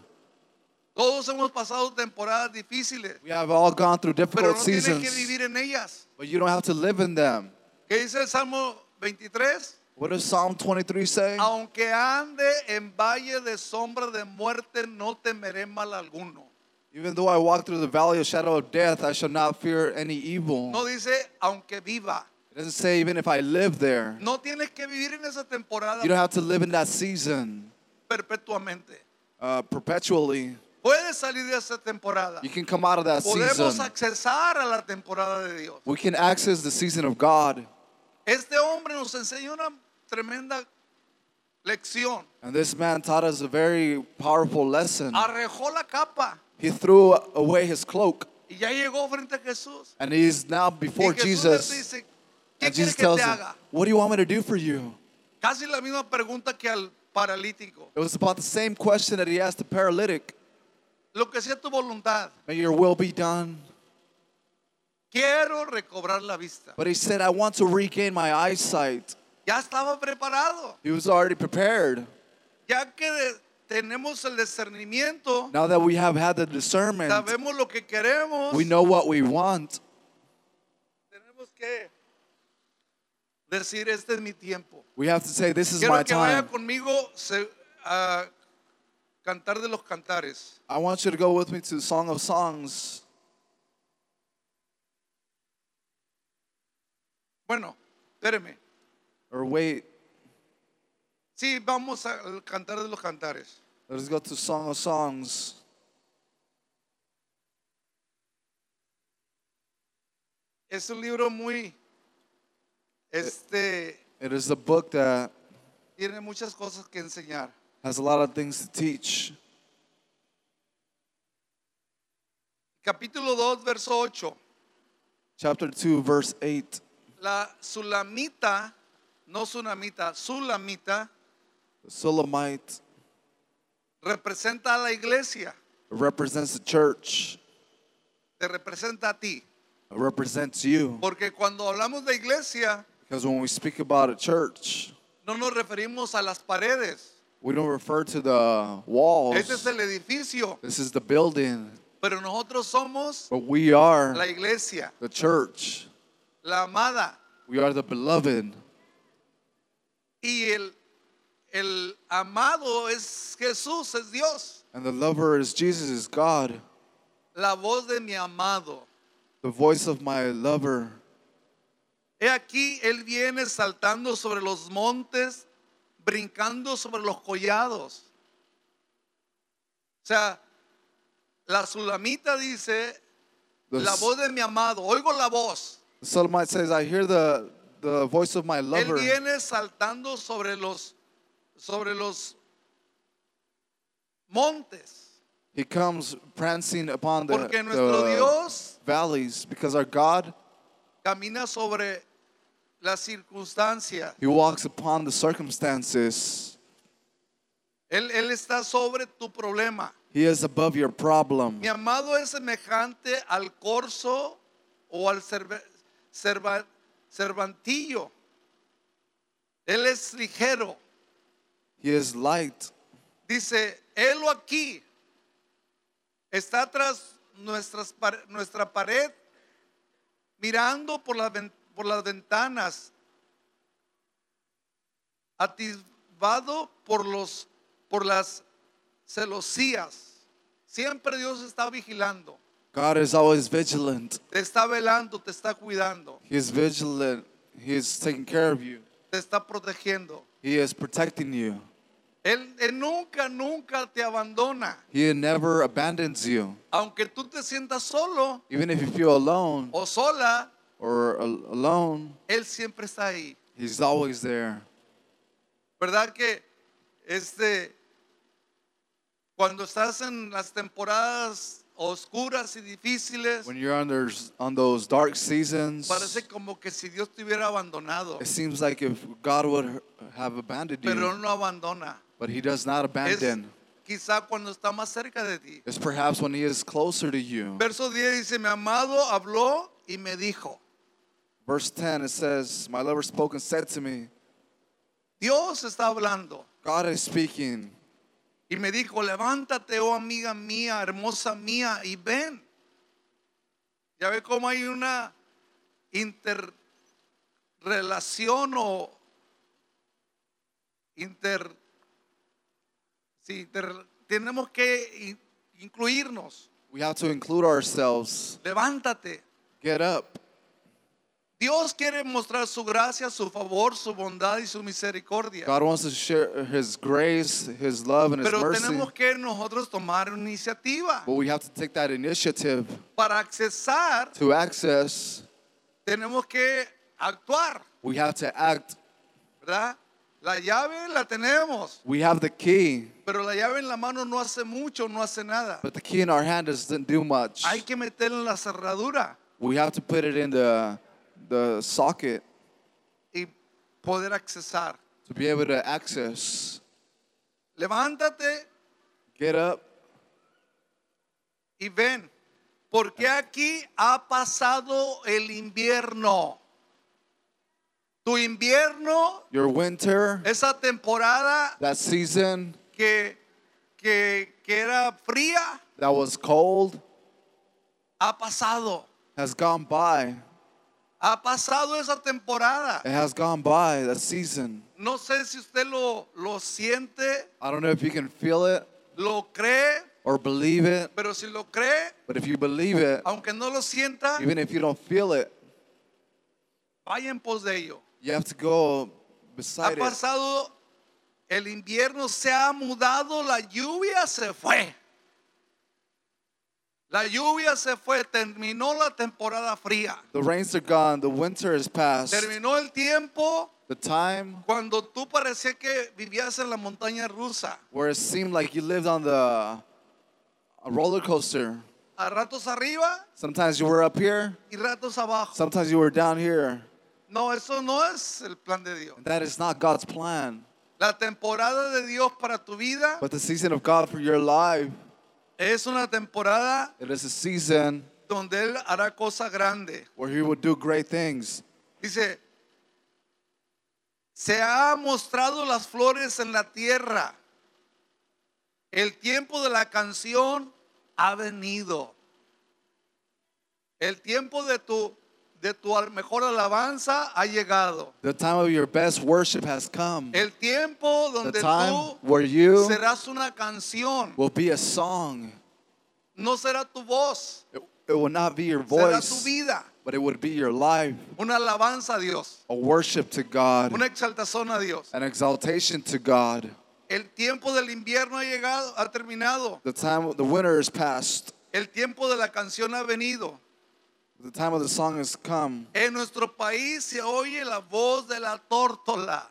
Todos hemos pasado temporadas difíciles. We have all gone through Pero difficult no tienes que seasons. vivir en ellas. But you don't have to live in them. ¿Qué dice el Salmo 23? What does Psalm 23 say? Aunque ande en valle de sombra de muerte, no temeré mal alguno. Even though I walk through the valley of shadow of death, I shall not fear any evil. No dice aunque viva. It doesn't say even if I live there. No tienes que vivir en esa temporada You don't have to live in that season perpetuamente. perpetually. Puedes salir de esa temporada. You can come out of that Podemos season. accesar a la temporada de Dios. We can access the season of God. Este hombre nos enseñó una tremenda lección. And this man taught us a very powerful lesson. Arrojó la capa He threw away his cloak. y ya llegó frente a Jesús. And he's now before Y Jesús le Jesus. dice, ¿qué And quieres Jesus que tells te him, haga? what do you want me to do for you? Casi la misma pregunta que al paralítico. It was about the same question that he asked the paralytic. Lo que sea tu voluntad. May your will be done. Quiero recobrar la vista. But he said, I want to regain my eyesight. Ya estaba preparado. He was already prepared. Ya que tenemos el discernimiento, Now that we have had the discernment, sabemos lo que queremos, we know what we want. tenemos que decir, este es mi tiempo. We have to say, this is Quiero my que vaya time. conmigo a Cantar de los Cantares. I want you to go with me to Song of Songs. Bueno, espéreme. Or wait, Sí, vamos al Cantar de los Cantares. let's go to Song of Songs. Es un libro muy, It is a book that tiene muchas cosas que enseñar. has a lot of things to teach. Capítulo 2, verso 8. Chapter 2, verse 8. La sulamita, no sunamita, sulamita, The Sulamite representa a la iglesia, represents the church. te representa a ti. It represents you. Porque cuando hablamos de iglesia, Because when we speak about a church, no nos referimos a las paredes. we don't refer to the walls. Este es el edificio, This is the building. pero nosotros somos But we are la iglesia, the church. la amada. We are the beloved. Y el amado es Jesús, es Dios. And the lover is Jesus, is God. La voz de mi amado. The voice of my lover. He aquí, Él viene saltando sobre los montes, brincando sobre los collados. O sea, la sulamita dice, The, la voz de mi amado, oigo la voz. the Sulamite says, I hear the voice of my Él lover. viene saltando sobre los montes. He comes prancing upon Porque nuestro the Dios valleys because our God, camina sobre las circunstancias. He walks upon the circumstances. Él está sobre tu problema. He is above your problem. Mi amado es semejante al corzo o al cervantillo. Él es ligero. He is light. Dice, Él aquí está tras nuestra pared, mirando por las ventanas. atisbado por las celosías. Siempre Dios está vigilando, God is always vigilant. te está velando, te está cuidando, He is vigilant. He is taking care of you. te está protegiendo. He is protecting you. Él nunca te abandona. He never abandons you. Aunque tú te sientas solo Even if you feel alone o sola, or alone, Él siempre está ahí. He's always there. ¿Verdad que cuando estás en las temporadas oscuras y difíciles, When you're on those dark seasons, parece como que si Dios te hubiera abandonado? it seems like if God would have abandoned Pero you, Él no abandona. but He does not Es abandon. quizá cuando está más cerca de ti. It's perhaps when He is closer to you. Verso 10 dice, mi amado habló y me dijo. Verse 10, it says, my lover spoke and said to me, Dios está hablando. God is speaking. Y me dijo, levántate, oh amiga mía, hermosa mía, y ven. Ya ve cómo hay una interrelación o tenemos que incluirnos. We have to include ourselves. Levántate. Get up. Dios quiere mostrar su gracia, su favor, su bondad y su misericordia. God wants to share His grace, His love, and His Pero mercy. tenemos que nosotros tomar iniciativa. But we have to take that initiative Para accesar, to access. tenemos que actuar, We have to act. ¿verdad? La llave la tenemos, We have the key, pero la llave en la mano no hace mucho, no hace nada. but the key in our hand doesn't do much. Hay que meterla en la cerradura We have to put it in the socket y poder accesar. to be able to access. Levántate Get up. y ven, porque aquí ha pasado el invierno. Tu invierno, Your winter, esa temporada that season que era fría, that was cold, ha pasado. has gone by. Ha pasado esa temporada. It has gone by, that season. No sé si usted lo siente, I don't know if you can feel it lo cree, or believe it, pero si lo cree, but if you believe it, aunque no lo sienta, even if you don't feel it, vaya en pos de ello. you have to go Ha beside it. pasado el invierno, se ha mudado, la lluvia se fue. La lluvia se fue, terminó la temporada fría. The rains are gone, the winter is past. Terminó el tiempo The time cuando tú parecía que vivías en la montaña rusa. where it seemed like you lived on a roller coaster. A ratos arriba Sometimes you were up here, y ratos abajo. sometimes you were down here. No, eso no es el plan de Dios. And that is not God's plan. La temporada de Dios para tu vida But the season of God for your life, es una temporada it is a season donde Él hará cosas grandes. where He would do great things. Dice, se ha mostrado las flores en la tierra. El tiempo de la canción ha venido. El tiempo de tu mejor alabanza ha llegado. The time of your best worship has come. El tiempo The donde time tú where you serás una canción. will be a song. No será tu voz, It will not be your será tu voice, vida. but it would be your life. Una alabanza a Dios, A worship to God, una exaltación a Dios. an exaltation to God. El tiempo del invierno ha llegado, ha terminado. The time, the winter is past. El tiempo de la canción ha venido. The time of the song has come. En nuestro país se oye la voz de la tórtola.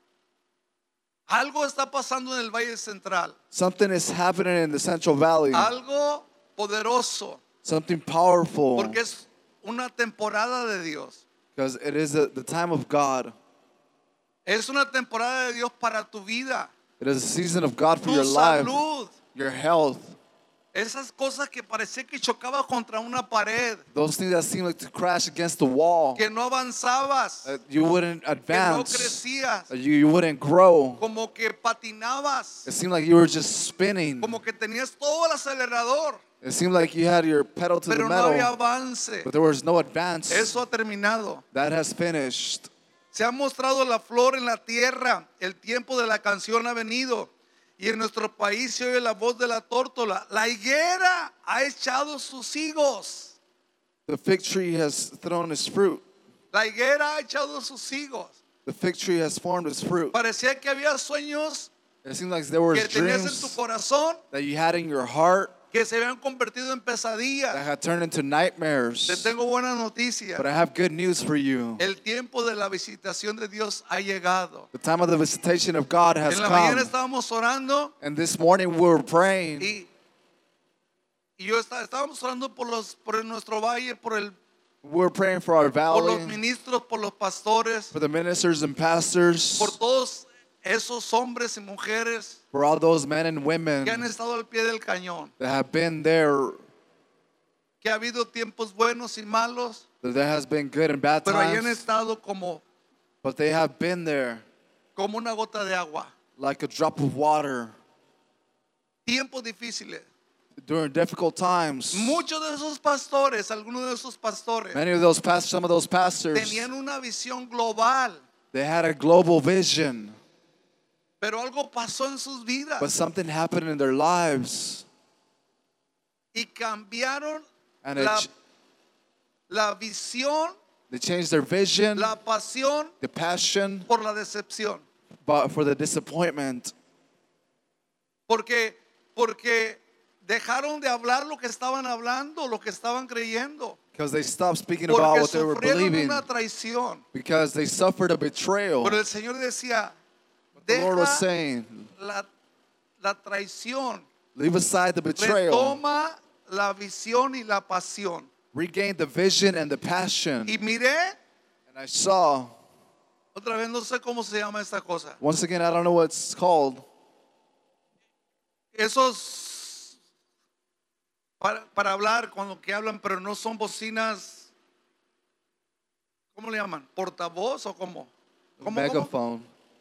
Algo está pasando en el Valle Central. Something is happening in the Central Valley. Algo poderoso. Something powerful. Porque es una temporada de Dios. Because it is the time of God. Es una temporada de Dios para tu vida. It is a season of God for Tu your life, salud. your health. Esas cosas que parecía que chocaba contra una pared. Those things that seem like to crash against the wall. Que no avanzabas. That you wouldn't Que no advance. crecías. That you wouldn't grow. Como que patinabas. It seemed like you were just spinning. Como que tenías todo el acelerador. It seemed like you had your pedal to Pero the no había metal, avance. but there was no advance. Eso ha terminado. That has finished. Se ha mostrado la flor en la tierra, el tiempo de la canción ha venido. Y en nuestro país se oye la voz de la tórtola. La higuera ha echado sus higos. The fig tree has thrown its fruit. La higuera ha echado sus higos. The fig tree has formed its fruit. Parecía que había sueños It seems like there were que tenías en tu dreams corazón that you had in your heart que se habían convertido en that pesadillas. had turned into Te nightmares. tengo buena noticia. But I have good news for you. El tiempo de la visitación de Dios ha llegado. The time of the visitation of God has En la mañana come. estábamos orando And this morning we were praying. y estábamos orando por nuestro valle, We were praying for our por los valley, ministros, por los pastores, for the ministers and pastors, por todos esos hombres y mujeres for all those men and women que han estado al pie del cañón. that have been there. Que ha habido tiempos buenos y malos, That there has been good and bad pero ahí han times, estado como but they have been there una gota de agua. like a drop of water Tiempos difíciles. during difficult times. Muchos de esos pastores, algunos de esos pastores, Many of those pastors, some of those pastors, tenían una visión global, they had a global vision, pero algo pasó en sus vidas but something happened in their lives, y cambiaron and la visión, they changed their vision, la pasión the passion, por la decepción. but for the disappointment. Porque dejaron de hablar lo que estaban hablando, lo que estaban creyendo. Because they stopped speaking about Porque what they were sufrieron believing. una traición. Because they suffered a betrayal. Pero el Señor decía, The Lord was deja saying, la traición, leave aside the betrayal. retoma la visión y la pasión. Regain the vision and the passion. Y miré, And I saw, otra vez no sé cómo se llama esta cosa, once again, I don't know what it's called. esos para hablar cuando que hablan, pero no son bocinas, ¿cómo le llaman? ¿Portavoz o cómo? ¿Cómo? Megaphone.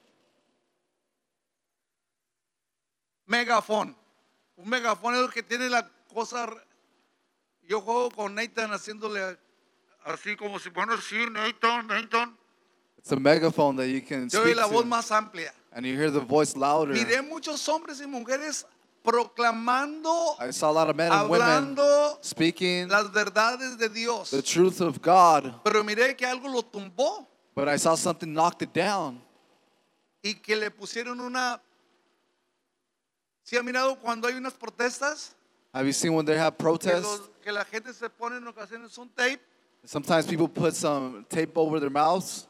Megafón. Un megafón es el que tiene la cosa. Yo juego con Nathan haciéndole así como si, bueno, sí, Nathan. It's a megaphone that you can Yo oí speak la voz to. más amplia. And you hear the voice louder. Miré muchos hombres y mujeres proclamando, I saw a lot of men and women hablando speaking las verdades de Dios. the truth of God. Pero miré que algo lo tumbó But I saw something knocked it down. y que le pusieron una. ¿Sí ha mirado cuando hay unas protestas? Have you seen when they have protests? Que la gente se pone en ocasiones un tape. Sometimes people put some tape over their mouths.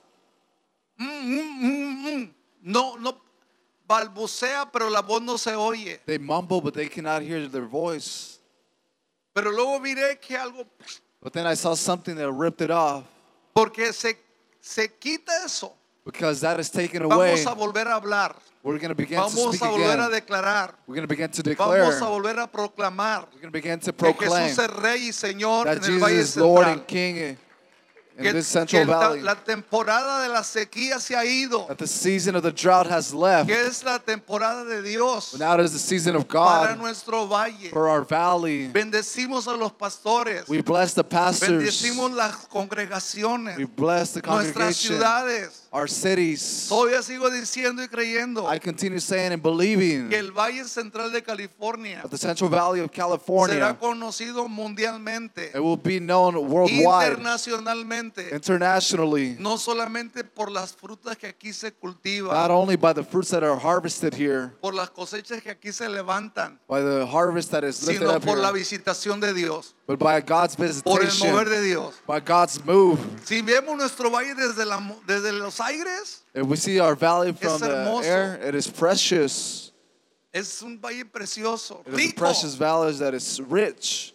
No balbucea, pero la voz no se oye. They mumble, but they cannot hear their voice. Pero luego miré que algo, But then I saw something that ripped it off. porque se quita eso. Because that is taken away. Vamos a volver a hablar. We're going to begin to Vamos speak a volver a again. declarar. We're going to begin to declare. Vamos a volver a proclamar We're going to begin to que proclaim Jesús es Rey y Señor that en el Jesus Valle is Lord Central. and King in Que, this Central Valley. la temporada de la sequía se ha ido. That the season of the drought has left. Que es la temporada de Dios But now it is the season of para God nuestro valle. for our valley. Bendecimos a los pastores. We bless the pastors. Bendecimos las congregaciones. We bless the Nuestras congregation. ciudades. Our cities. Todavía sigo diciendo y creyendo I continue saying and believing que el Valle Central de California that the Central Valley of será California, conocido mundialmente, it will be known worldwide, internacionalmente, internationally, no solamente por las frutas que aquí se not cultivan, only by the fruits that are harvested here, por las cosechas que aquí se levantan, by the harvest that is lifted sino up por la here, visitación de Dios, but by God's por el mover visitation, de Dios. by God's move. Si vemos nuestro valle desde los aires, If we see our valley from the hermoso. air, it is precious. es un valle precioso, It is a rico. precious valley that is rich.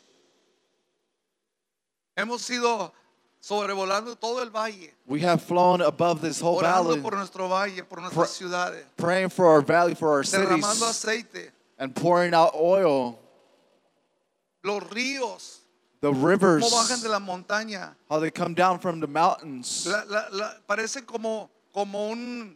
Hemos ido sobrevolando todo el valle, We have flown above this whole orando valley, por nuestro valle, por nuestras ciudades, praying for our valley, for our derramando cities, aceite, and pouring out oil. los ríos, The cómo rivers, bajan de la montaña. how they come down from the mountains. Parece como un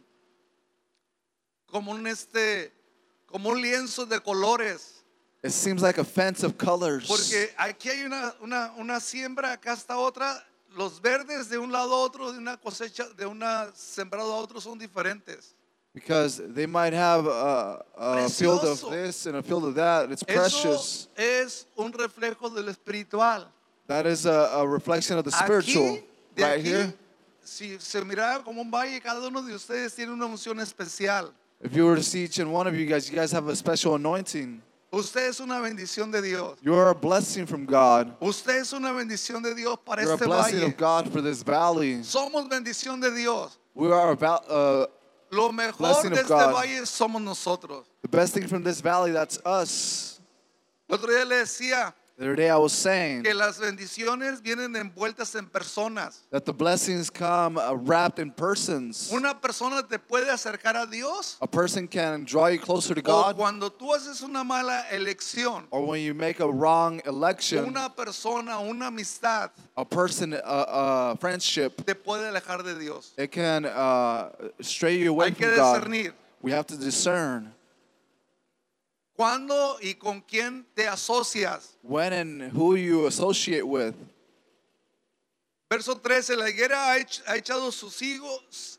lienzo de colores. It seems like a fence of colors. Porque aquí hay una siembra, acá está otra, los verdes de un lado a otro, de una cosecha, de una sembrado a otro son diferentes. Because they might have a field of Precioso. this and a field of that. It's Eso precious. es un reflejo del espiritual. That is a reflection of the spiritual. Aquí, de Right aquí, here. si se miraba como un valle, cada uno de ustedes tiene una unción especial. If you were to see each and one of you guys have a special anointing. Usted es una bendición de Dios. You are a blessing from God. Usted es una bendición de Dios para You're a este blessing valle. of God for this valley. Somos bendición de Dios. We are about Lo mejor Blessing de of este God. valle somos nosotros. the best thing from this valley. That's us. El otro día le decía The other day I was saying que las bendiciones vienen envueltas en personas. that the blessings come wrapped in persons. Una persona te puede acercar a Dios A person can draw you closer to o God, cuando tú haces una mala elección. or when you make a wrong election, Una persona, una amistad a person, a friendship, te puede alejar de Dios. it can stray you away Hay que from God. discernir We have to discern cuándo y con quién te asocias. when and who you associate with. Verso 13, la higuera ha echado sus higos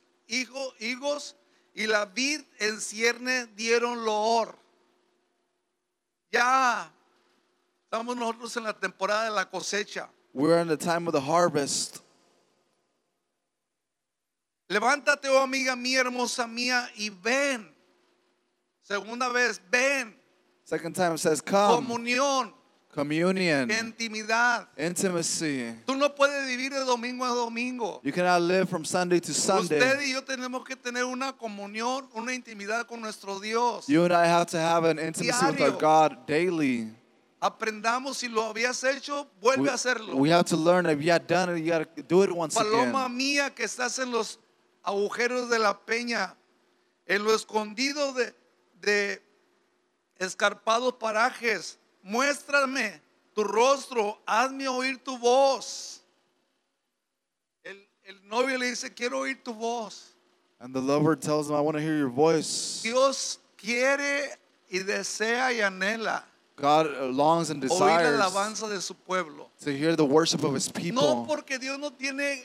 y la vid en cierne dieron loor. Ya estamos nosotros en la temporada de la cosecha. We're in the time of the harvest. Levántate, oh amiga mía, hermosa mía, y ven. Segunda vez, ven. Second time it says, come. Comunión, Communion, intimidad. intimacy. Tú no puedes vivir de domingo a domingo. You cannot live from Sunday to Usted Sunday. y yo tenemos que tener una comunión, una intimidad con nuestro Dios. You and I have to have an intimacy with our Diario. God daily. Aprendamos, si lo habías hecho, vuelve a hacerlo. We have to learn. If you had done it, you got to do it once Paloma again. mía que estás en los agujeros de la peña, en lo escondido de escarpados parajes, muéstrame tu rostro, hazme oír tu voz. El novio le dice, quiero oír tu voz. And the lover tells him, I want to hear your voice. Dios quiere y desea y anhela God longs and oír desires la alabanza de su pueblo. to hear the worship of his No people. porque Dios no tiene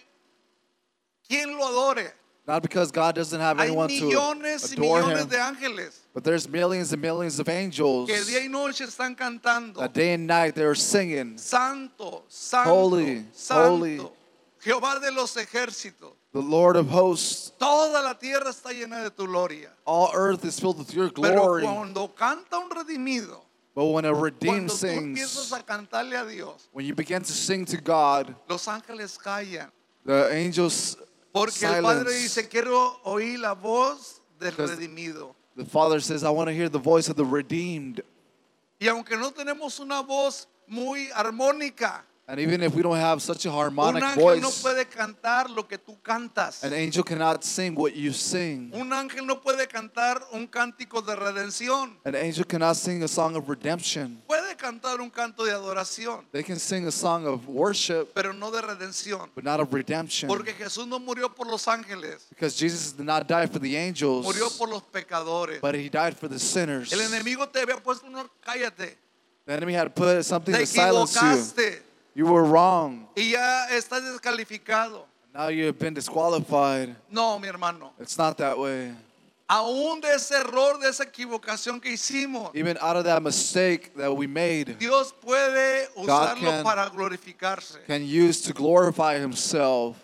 quien lo adore. Not because God doesn't have Hay anyone to millones y adore millones him, de ángeles but there's millions and millions of angels que día y noche están cantando. that day and night they're singing, Santo, santo, Holy, santo, holy. Jehová de los ejércitos. the Lord of hosts. Toda la tierra está llena de tu gloria. All earth is filled with your Pero glory. cuando canta un redimido, But when a redeemed cuando tú empiezas sings, a cantarle a Dios, when you begin to sing to God, los ángeles callan. the angels Porque el Padre silence. dice, quiero oír la voz del Because redimido. The Father says, I want to hear the voice of the redeemed. Y aunque no tenemos una voz muy armónica, And even if we don't have such a un harmonic ángel no voice, puede cantar lo que tú cantas. an angel cannot sing what you sing. Un ángel no puede cantar un cántico de redención. An angel cannot sing a song of redemption. Puede cantar un canto de adoración, They can sing a song of worship, pero no de redención. but not of redemption. Porque Jesús no murió por los ángeles, Because Jesus did not die for the angels, murió por los pecadores. but he died for the sinners. El enemigo te había puesto un cállate, The enemy had put something te to silence you. equivocaste You were wrong. y ya estás descalificado. Now you have been disqualified. No, mi hermano. It's not that way. Aún de ese error, de esa equivocación que hicimos, Even out of that mistake that we made, Dios puede usarlo can- para glorificarse. can use to glorify himself.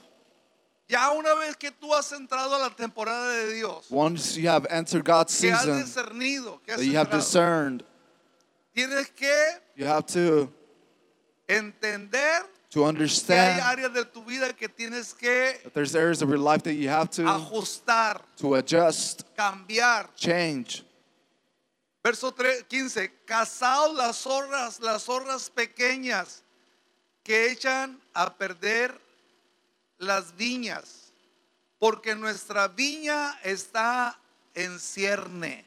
Ya una vez que tú has entrado a la temporada de Dios, Once you have entered God's que has season, discernido, que has that you have entrado, discerned, tienes que you have to entender que hay understand áreas de tu vida que tienes que that there's areas of your life that you have to ajustar, adjust, cambiar. change. Verso 15, cazaos las zorras pequeñas que echan a perder las viñas, porque nuestra viña está en cierne.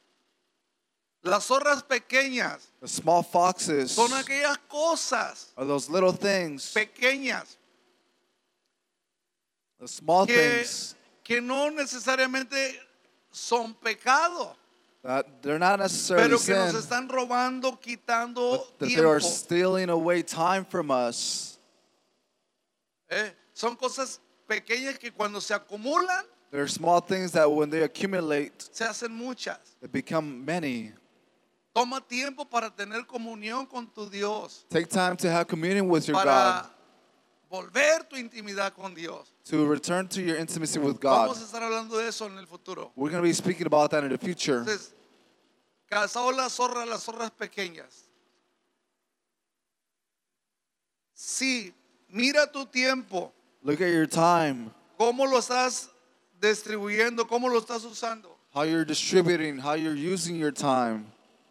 Las zorras pequeñas The small foxes son aquellas cosas are those little things, pequeñas the small que, things que no necesariamente son pecado, that they're not necessarily pero que nos sin, están robando, quitando but that they are tiempo. stealing away time from us. Son cosas pequeñas que cuando se acumulan There are small things that when they accumulate, se hacen muchas. they become many. Toma tiempo para tener comunión con tu Dios, Take time to have communion with your God, para volver tu intimidad con Dios. to return to your intimacy with God. Vamos a estar hablando de eso en el futuro. We're going to be speaking about that in the future. Entonces, cazado las zorras pequeñas. Sí, mira tu tiempo, Look at your time, cómo lo estás distribuyendo, cómo lo estás usando. how you're distributing, how you're using your time.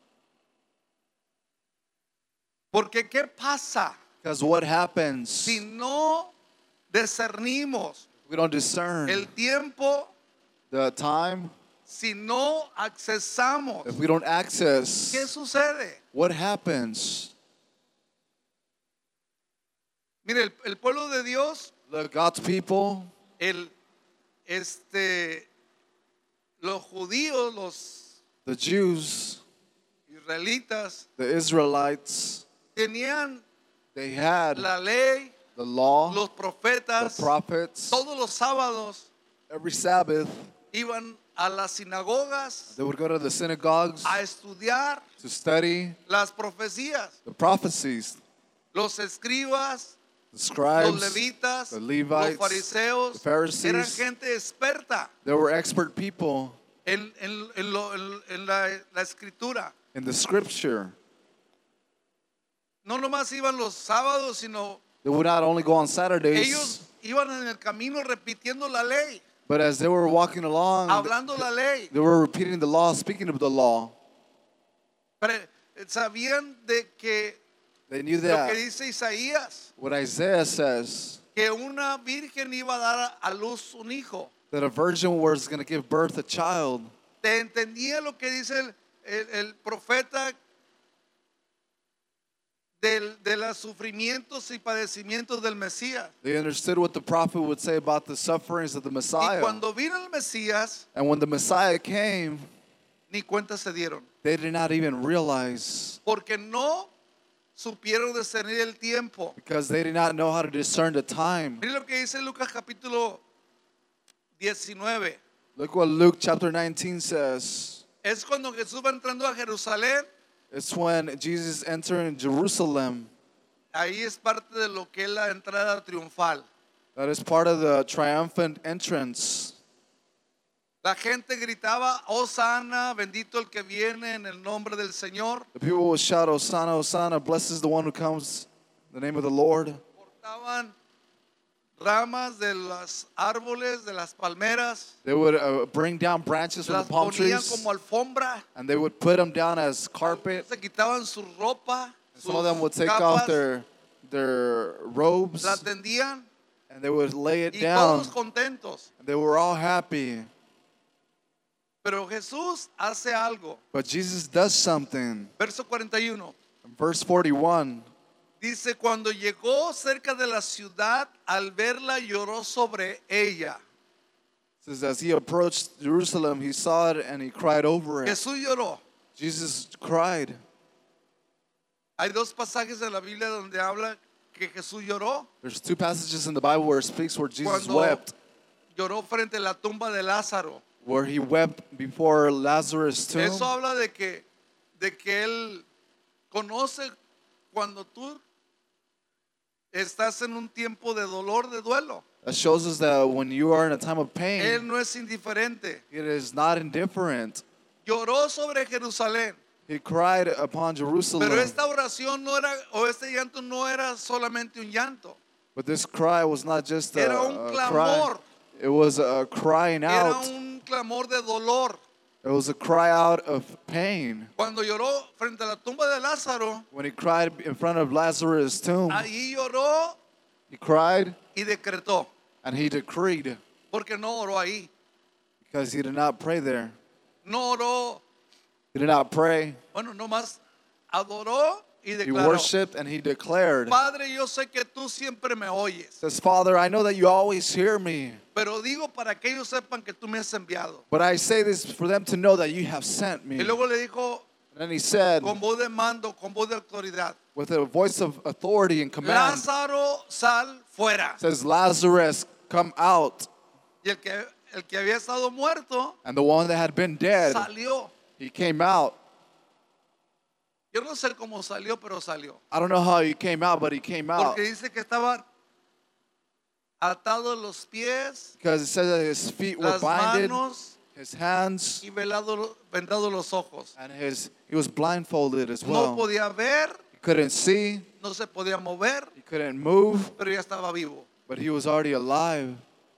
Porque ¿qué pasa Because what happens si no discernimos we don't discern el tiempo, the time, si no accesamos? if we don't access, ¿Qué sucede? what happens? Mire, el pueblo de Dios, Look, God's people, los judíos, los the Jews, israelitas, the Israelites, tenían they had la ley, the law, los the profetas, prophets. todos los sábados Every Sabbath, iban a las sinagogas they would go to the synagogues a estudiar to study las profecías. the prophecies. Los escribas, The los scribes, levitas, the los Levites, fariseos, the Pharisees. eran gente experta they were expert people en la escritura. in the scripture. No nomás iban los sábados, sino They would not only go on Saturdays, ellos iban en el camino repitiendo la ley, but as they were walking along, hablando la ley. they were repeating the law, speaking of the law. Sabían de que They knew lo que that dice Isaías, what Isaiah says, que una virgen iba a dar a luz un hijo. that a virgin was going to give birth a child. ¿Te entendía lo que dice el profeta de los sufrimientos y padecimientos del Mesías? They understood what the prophet would say about the sufferings of the Y Messiah. cuando vino el Mesías, And when the Messiah came, ni cuenta se dieron, they did not even realize, porque no supieron discernir el tiempo. because they did not know how to discern the time. Mire lo que dice Lucas capítulo 19. Look what Luke chapter 19 says. Es cuando Jesús va entrando a Jerusalén. It's when Jesus entered in Jerusalem. Ahí es parte de lo que es la entrada triunfal. That is part of the triumphant entrance. La gente gritaba, Hosanna, bendito el que viene en el nombre del Señor. The people would shout, Hosanna, Hosanna, blessed is the one who comes in the name of the Lord. Cortaban ramas de los árboles, de las palmeras, They would bring down branches from las the palm ponían trees, como alfombra, and they would put them down as carpet. se quitaban su ropa, Some of them would sus take off capas, their robes, la tendían and they would lay it y down. todos contentos. They were all happy. Pero Jesús hace algo. But Jesus does something. Verso 41. In verse 41, Dice, cuando llegó cerca de la ciudad, al verla lloró sobre ella. it says, as he approached Jerusalem, he saw it and he cried over it. Jesús lloró. Jesus cried. Hay dos pasajes en la Biblia donde habla que Jesús lloró. There's two passages in the Bible where it speaks where Jesus Cuando wept, lloró frente a la tumba de Lázaro. where he wept before Lazarus' tomb. Eso habla de que Él conoce cuando tú estás en un tiempo de dolor, de duelo. That shows us that when you are in a time of Él pain, no es indiferente. it is not indifferent. Lloró sobre Jerusalén. He cried upon Jerusalem. Pero esta oración no era, o este llanto no era solamente un llanto. But this cry was not just a, Era un a cry. clamor. It was a crying Era out. un clamor de dolor. It was a cry out of pain. Cuando lloró frente a la tumba de Lázaro, When he cried in front of Lazarus' tomb, ahí lloró he cried y decretó, and he decreed, porque no oró ahí. because he did not pray there. No oró, He did not pray. bueno, nomás adoró y He declaró. worshiped and he declared. Padre, yo sé que tú siempre me oyes, Says, Father, I know that you always hear me, pero digo para que ellos sepan que tú me has enviado. but I say this for them to know that you have sent me. Y luego le dijo And then he said, con voz de mando, con voz de autoridad, with a voice of authority and command, Lázaro, sal fuera. says, Lazarus, come out. Y el que había estado muerto And the one that had been dead, salió. he came out. Yo no sé cómo salió, pero salió. I don't know how he came out, but he came out. Porque dice que estaban atados los pies, Because it says that his feet were las binded, manos his hands, y vendados los ojos. and he was blindfolded as No well. podía ver, He couldn't see, no se podía mover, he couldn't move, pero ya estaba vivo. but he was already alive.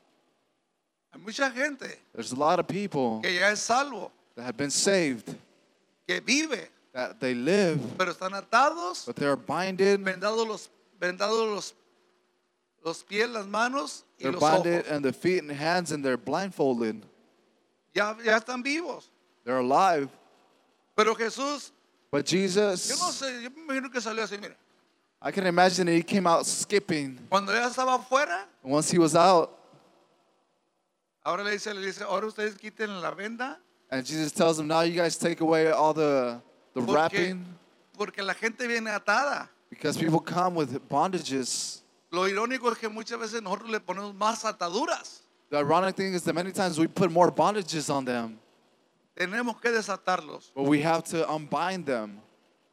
Hay mucha gente There's a lot of people que ya es salvo, that have been saved, que vive, that they live, pero están atados, but they're binded, vendados los pies, las manos y they're los binded, ojos. and the feet and hands, and they're blindfolded. Ya están vivos. They're alive. Pero Jesús, But yo no Jesus, sé, yo me imagino que salió así, mire. I can imagine that he came out skipping. Cuando ya estaba afuera, And once he was out, ahora le dice, ahora ustedes quiten la venda, and Jesus tells them, now you guys take away all the wrapping, porque la gente viene atada. because people come with bondages. Lo irónico es que muchas veces nosotros le ponemos más ataduras. The ironic thing is that many times we put more bondages on them, Tenemos que desatarlos. but we have to unbind them.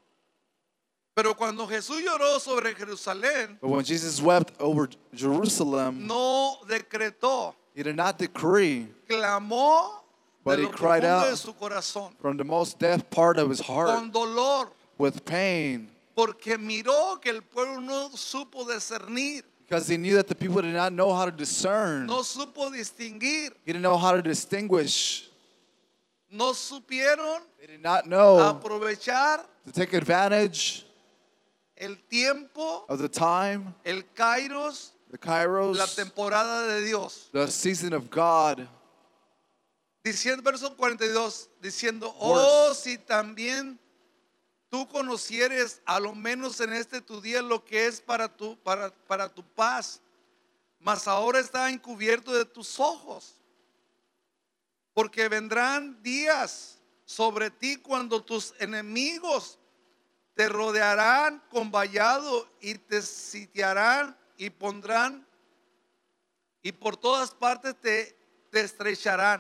Pero cuando Jesús lloró sobre Jerusalén, But when Jesus wept over Jerusalem, no decretó, he did not decree clamó But de he lo cried profundo out de su corazón, from the most depth part of his heart con dolor, with pain, porque miró que el pueblo no supo discernir, because he knew that the people did not know how to discern. no supo distinguir, He didn't know how to distinguish. no supieron They did not know aprovechar to take advantage el tiempo, of the time, el kairos, the la kairos, temporada de Dios. the season of God. Diciendo, verso 42, diciendo, oh, si también tú conocieres a lo menos en este tu día lo que es para tu paz, mas ahora está encubierto de tus ojos, porque vendrán días sobre ti cuando tus enemigos te rodearán con vallado y te sitiarán y pondrán y por todas partes te estrecharán.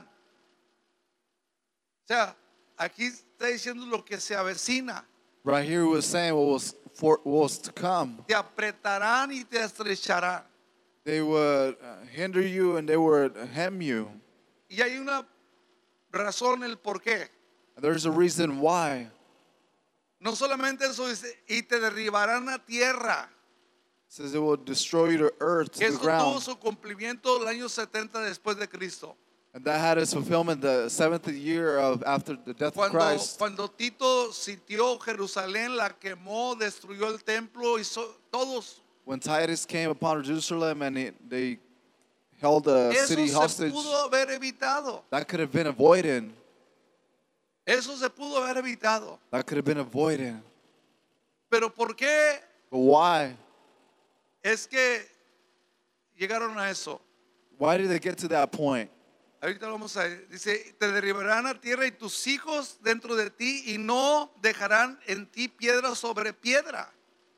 O sea, aquí está diciendo lo que se avecina. Right here he was saying what was to come. Te apretarán y te estrecharán. They would hinder you and they would hem you. Y hay una razón el por qué. And there's a reason why. No solamente eso dice, y te derribarán a tierra. It says it will destroy you to earth, to the Esto tuvo ground. su cumplimiento el año 70 después de Cristo. And that had its fulfillment the 7th year of after the death of Christ. Cuando Tito sitió Jerusalén, la quemó, destruyó el templo y todos. When Titus came upon Jerusalem and they held the Eso city se hostage, pudo haber evitado. that could have been avoided. Eso se pudo haber evitado. That could have been avoided. Pero ¿por qué But why? es que llegaron a eso? Why did they get to that point? Ahorita lo vamos a ver. Dice, te derribarán a tierra y tus hijos dentro de ti y no dejarán en ti piedra sobre piedra.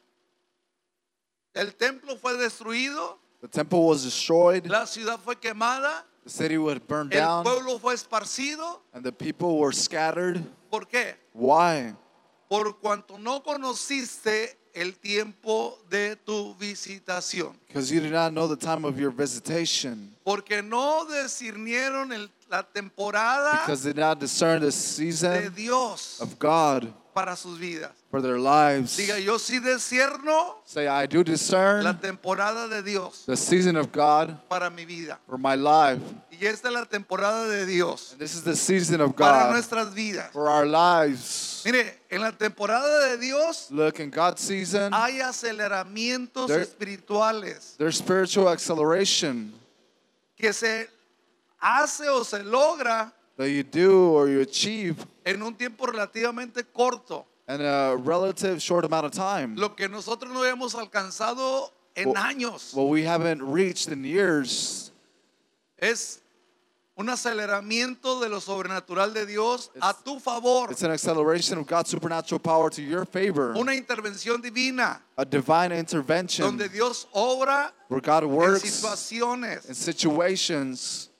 El templo fue destruido, The temple was destroyed, la ciudad fue quemada, the city was burned el down, pueblo fue esparcido. and the people were scattered. ¿Por qué? Why? Por cuanto no conociste el tiempo de tu visitación. Because you did not know the time of your visitation. Porque no discernieron la temporada Because they did not discern the de season Dios of God para sus vidas. for their lives. Diga, yo sí discierno Say, I do discern la temporada de Dios the season of God para mi vida. for my life. Y esta es la temporada de Dios And this is the season of para God nuestras vidas. for our lives. Mire, en la temporada de Dios Look, in God's season, hay aceleramientos There- espirituales there's spiritual acceleration que se hace o se logra that you do or you achieve en un tiempo relativamente corto. in a relative short amount of time. Lo que nosotros no hemos alcanzado en Well- años What we haven't reached in years es un aceleramiento de lo sobrenatural de Dios a tu favor, It's an acceleration of God's supernatural power to your favor. una intervención divina A divine intervention donde Dios obra where God en works situaciones. in situations.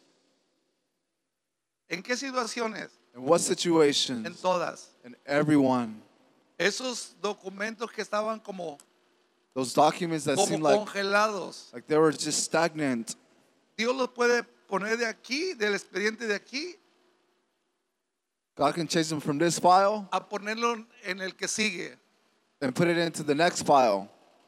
¿En qué situaciones? In what En situations? todas. In everyone. Esos documentos que estaban como Those documents that seem like congelados, they were just stagnant. Dios los puede poner de aquí, del expediente de aquí, God can change them from this file a ponerlo en el que sigue. and put it into the next file.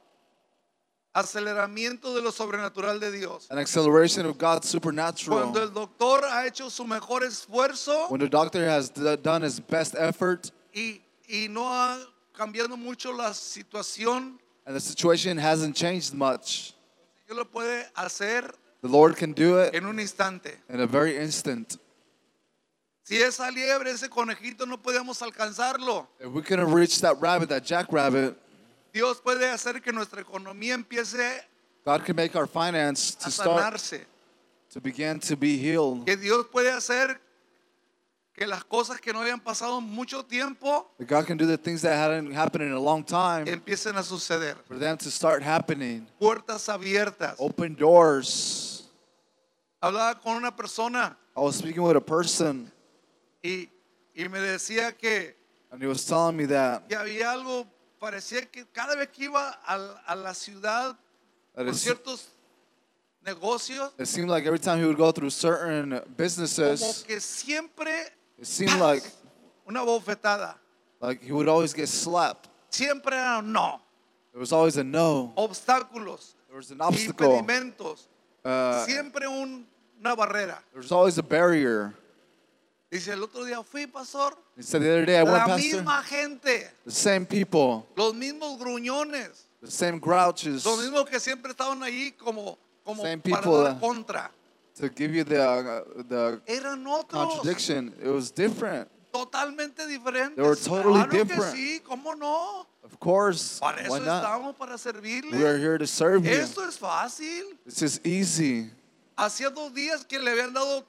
Aceleramiento de lo sobrenatural de Dios. An acceleration of God's supernatural. Cuando el doctor ha hecho su mejor esfuerzo When the doctor has done his best effort y no ha cambiado mucho la situación, and the situation hasn't changed much, Dios lo puede hacer the Lord can do it en un instante. in a very instant. Si esa liebre, ese conejito, no podemos alcanzarlo, If we couldn't reach that rabbit, that jackrabbit, Dios puede hacer que nuestra economía empiece God can make our finance a to start sanarse. to begin to be healed. Que Dios puede hacer que las cosas que no habían pasado mucho tiempo That God can do the things that hadn't happened in a long time empiecen a suceder. for them to start happening. Puertas abiertas. Open doors. Hablaba con una persona I was speaking with a person y me decía que and he was telling me that había algo, parecía que cada vez que iba a la ciudad por ciertos negocios, it seemed like every time he would go through certain como businesses, que siempre it seemed like una bofetada. he would always get slapped. Siempre era un no. There was always a no. Obstáculos, There was an obstacle. impedimentos, Uh, siempre una barrera. there was always a barrier. Dice, el otro día fui, pastor, He said the other day I went, la Pastor, misma gente, the same people, los mismos gruñones, the same grouches los mismos que siempre estaban ahí como Same para people, dar contra. to give you the Eran otros, contradiction. It was different. totalmente diferentes. They were totally Claro que different. sí, ¿cómo no? Of course, Para eso why not? estamos, para servirle. We are here to serve you. Esto es fácil. This is easy. Hacía 2 días que le habían dado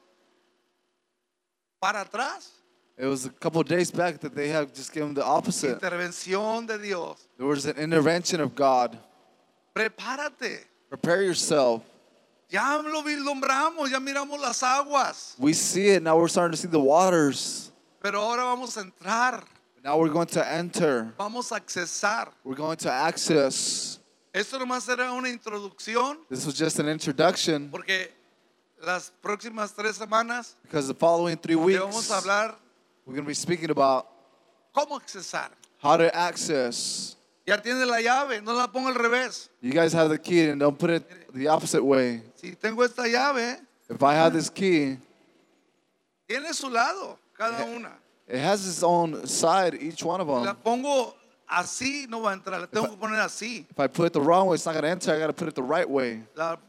para atrás. It was a couple of days back that they have just given the opposite. Intervención de Dios. There was an intervention of God. Prepárate. Prepare yourself. Ya lo vislumbramos, ya miramos las aguas. We see it now. We're starting to see the waters. Pero ahora vamos a entrar. Now we're going to enter. Vamos a accesar. We're going to access. Esto nomás era una introducción This was just an introduction porque las próximas 3 semanas because the following 3 le weeks vamos a hablar we're going to be speaking about cómo accesar. how to access. Ya tiene la llave, no la ponga al revés. You guys have the key and don't put it the opposite way. Si tengo esta llave, If I have this key, tiene su lado cada una. it has its own side, each one of Si la them. pongo así, no va a entrar. La tengo que poner así. If I put it the wrong way, it's not going to enter. I got to put it the right way.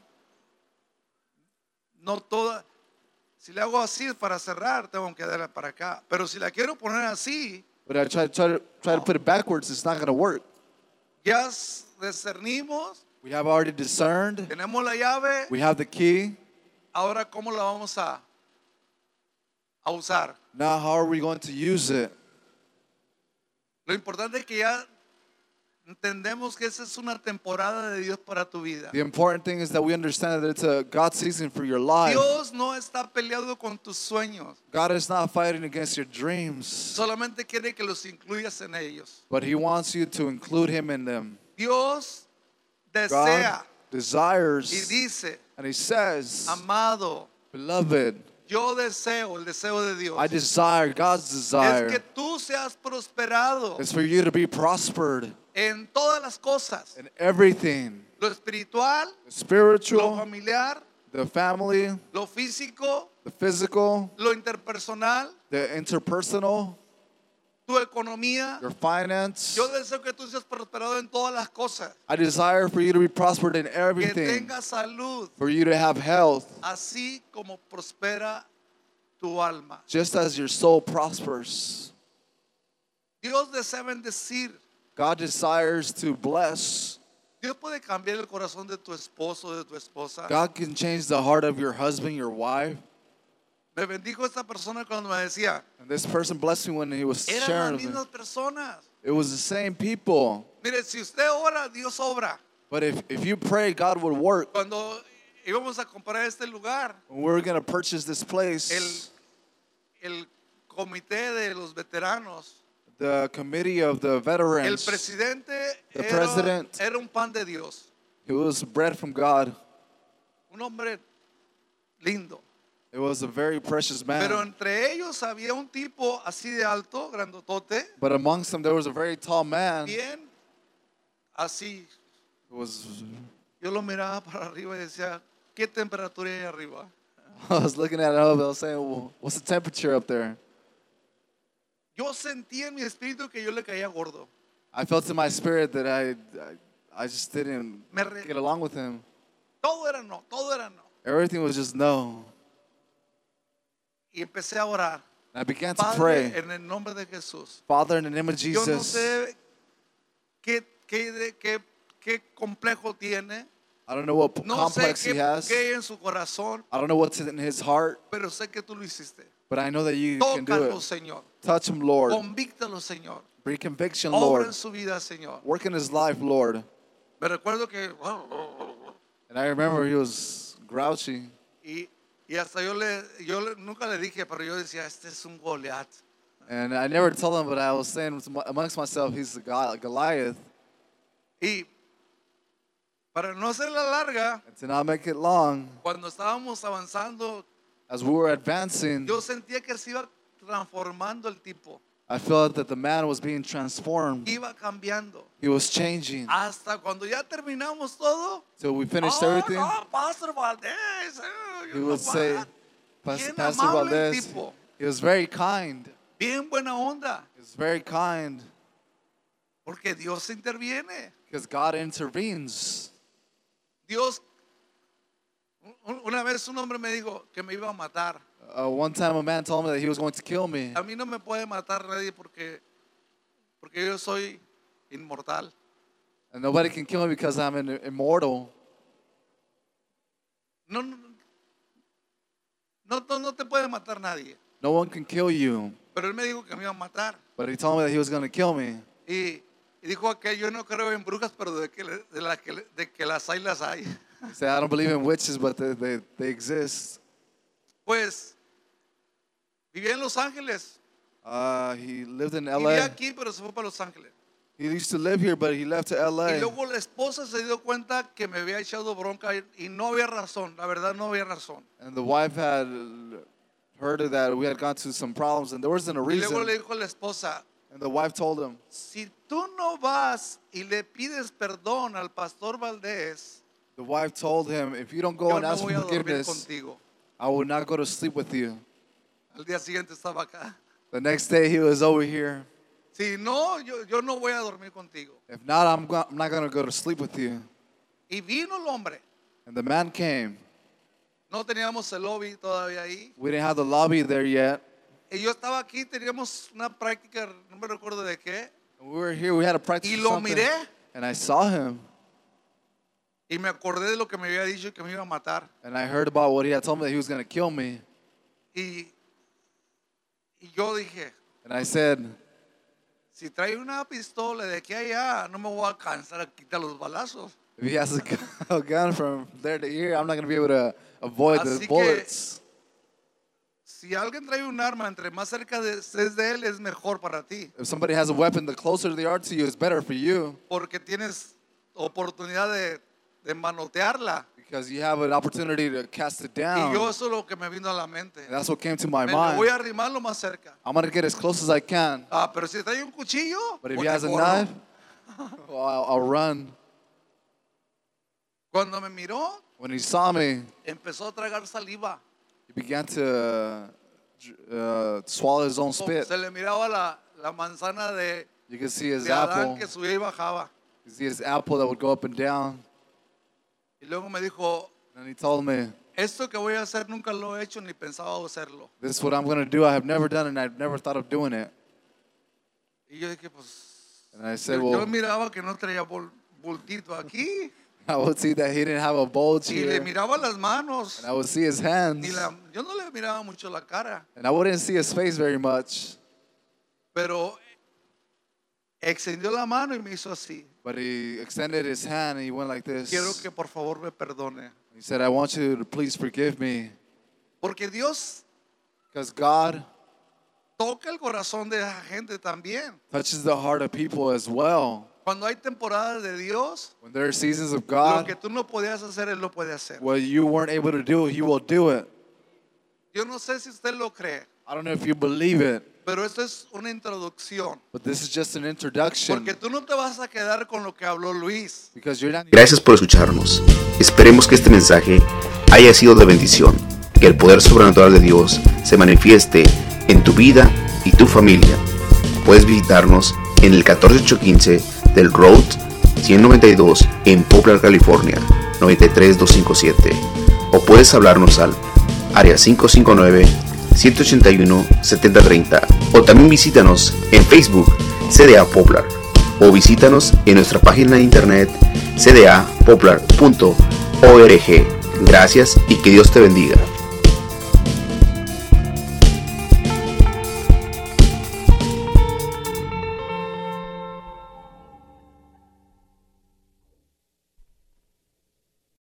No toda. Si le hago así es para cerrar, tengo que darla para acá. Pero si la quiero poner así, But I try to put it backwards, it's not going to work. ya discernimos, We have already discerned. tenemos la llave. We have the key. Ahora, ¿cómo la vamos a usar? Now, how are we going to use it? Lo importante es que ya entendemos que esa es una temporada de Dios para tu vida. The important thing is that we understand that it's a God season for your life. Dios no está peleado con tus sueños, God is not fighting against your dreams, solamente quiere que los incluyas en ellos. but He wants you to include Him in them. Dios God desea y desires, dice, and He says, amado, Beloved, yo deseo, el deseo de Dios, I desire, God's es desire que tú seas prosperado is for you to be prospered en todas las cosas, in everything, lo espiritual, the lo spiritual, familiar, the family, lo físico, the physical, lo interpersonal, the interpersonal, tu economía. your finance. Yo deseo que tú seas prosperado en todas las cosas, I desire for you to be prospered in que everything, tengas salud, for you to have health, así como prospera tu alma. just as your soul prospers. Dios desea bendecir. God desires to bless. Dios puede cambiar el corazón de tu esposo, de tu esposa. God can change the heart of your husband, your wife. Me bendijo esta persona cuando me decía, And this person blessed me when he was eran sharing las with me. mismas personas. It was the same people. Mire, si usted ora, Dios obra. But if you pray, God would work. Cuando íbamos a comprar este lugar, When we were going to purchase this place, el comité de los veteranos, the committee of the el veterans, presidente The president. era un pan de Dios, it was bread from God. un hombre lindo. It was a very precious Pero man. entre ellos había un tipo así de alto, grandotote, But amongst them, there was a very tall man. bien así. It was, Yo lo miraba para arriba y decía, ¿qué temperatura hay arriba? I was looking at it up, I was saying, well, what's the temperature up there? Yo sentí en mi espíritu que yo le caía gordo. I felt in my spirit that I just didn't Me re- get along with him. Todo era no, todo era no. Everything was just no. Y empecé a orar. And I began to Padre, pray. en el nombre de Jesús. Father, in the name of Yo no Jesus, sé qué complejo tiene. I don't know what No sé complex he has. qué hay en su corazón, I don't know what's in his heart, pero sé que tú lo hiciste. but I know that you can do Tócalo, it. Señor. Touch him, Lord. Convíctalo, Señor. Bring conviction, Obra Lord. en su vida, Señor. Work in his life, Lord. Me recuerdo que And I remember he was grouchy. y hasta nunca le dije, pero yo decía, este es un Goliat. And I never told him, but I was saying amongst myself, he's a Goliath. Y para no hacerla larga, And to not make it long, cuando estábamos avanzando, as we were advancing, yo sentía que se iba transformando el tipo. I felt that the man was being transformed. Iba cambiando. He was changing. Hasta cuando ya terminamos todo. So we finished "Oh, everything. no, Pastor Valdés. He would say, Bien Pastor amable el Valdez, tipo. he was very kind. Bien buena onda. He was very kind Porque Dios interviene. because God intervenes. Dios, una vez un hombre me dijo que me iba a matar. One time a man told me that he was going to kill me. A mí no me puede matar nadie porque yo soy inmortal. And nobody can kill me because I'm immortal. No te puede matar nadie. No one can kill you. Pero él me dijo que me iba a matar. But he told me that he was going to kill me. Y dijo que yo no creo en brujas, pero de que las hay. He said, I don't believe in witches, but they exist. Pues vivía en Los Ángeles. He lived in Vivía LA. aquí, pero se fue para Los Ángeles. He used to live here, but he left to Y LA. luego la esposa se dio cuenta que me había echado bronca y no había razón. La verdad, no había razón. And the wife had heard of that we had gone to some problems, and there wasn't a Y luego reason. le dijo a la esposa, And the wife told him, si tú no vas y le pides perdón al pastor Valdés, the wife told him, if you don't go yo and no ask voy for a dormir forgiveness, contigo. I will not go to sleep with you. Al día siguiente estaba acá. The next day he was over here. Si no, yo no voy a dormir contigo. If not, I'm not going to go to sleep with you. Y vino el hombre. And the man came. No teníamos el lobby todavía ahí. We didn't have the lobby there yet. Y yo estaba aquí, teníamos una práctica, no me recuerdo de qué. And we were here, we had a practice Y or lo something. miré. And I saw him. Y me acordé de lo que me había dicho que me iba a matar. And I heard about what he had told me that he was going to kill me. Y yo dije, And I said, si trae una pistola de aquí a allá, no me voy a alcanzar a quitar los balazos. if he has a gun from there to here, I'm not going to be able to avoid Así the que- bullets. Si alguien trae un arma, entre más cerca estés de él, es mejor para ti. If somebody has a weapon, the closer they are to you, it's better for you Porque tienes oportunidad de manotearla. because you have an opportunity to cast it Y down. yo eso es lo que me vino a la mente. And that's what came to my Me voy mind. a arrimar lo más cerca. I'm going to get as close as I can. Pero si trae un cuchillo, But if pues he me has a corro. knife, well, I'll run. Cuando me miró, When he saw me, empezó a tragar saliva. he began to swallow his own spit. Se le miraba la manzana de You could see his Adán apple. que subía y bajaba. You see his apple that would go up and down. Y luego me dijo, And he told me, esto que voy a hacer nunca lo he hecho ni pensaba hacerlo. this is what I'm going to do. I have never done it, and I've never thought of doing it. Y yo dije, pues, And I said, yo well, miraba que no traía bultito aquí. I would see that he didn't have a bulge Y le here. miraba las manos. And I would see his hands. Yo no le miraba mucho la cara. And I wouldn't see his face very much. Pero extendió la mano y me hizo así. But he extended his hand and he went like this. Quiero que por favor me perdone. He said, I want you to please forgive me. Porque Dios Because God toca el corazón de la gente también. touches the heart of people as well. Cuando hay temporadas de Dios, When there are seasons of lo que God, tú no podías hacer, Él lo puede hacer. what you weren't able to do, He will do it. Yo no sé si usted lo cree, I don't know if you believe it, pero esto es una introducción. but this is just an introduction. Porque tú no te vas a quedar con lo que habló Luis. Because you're not. Gracias por escucharnos. Esperemos que este mensaje haya sido de bendición. Que el poder sobrenatural de Dios se manifieste en tu vida y tu familia. Puedes visitarnos en el 14815 del Road 192 en Poplar, California 93257, o puedes hablarnos al área 559-181-7030, o también visítanos en Facebook CDA Poplar, o visítanos en nuestra página de internet cdapoplar.org. Gracias y que Dios te bendiga.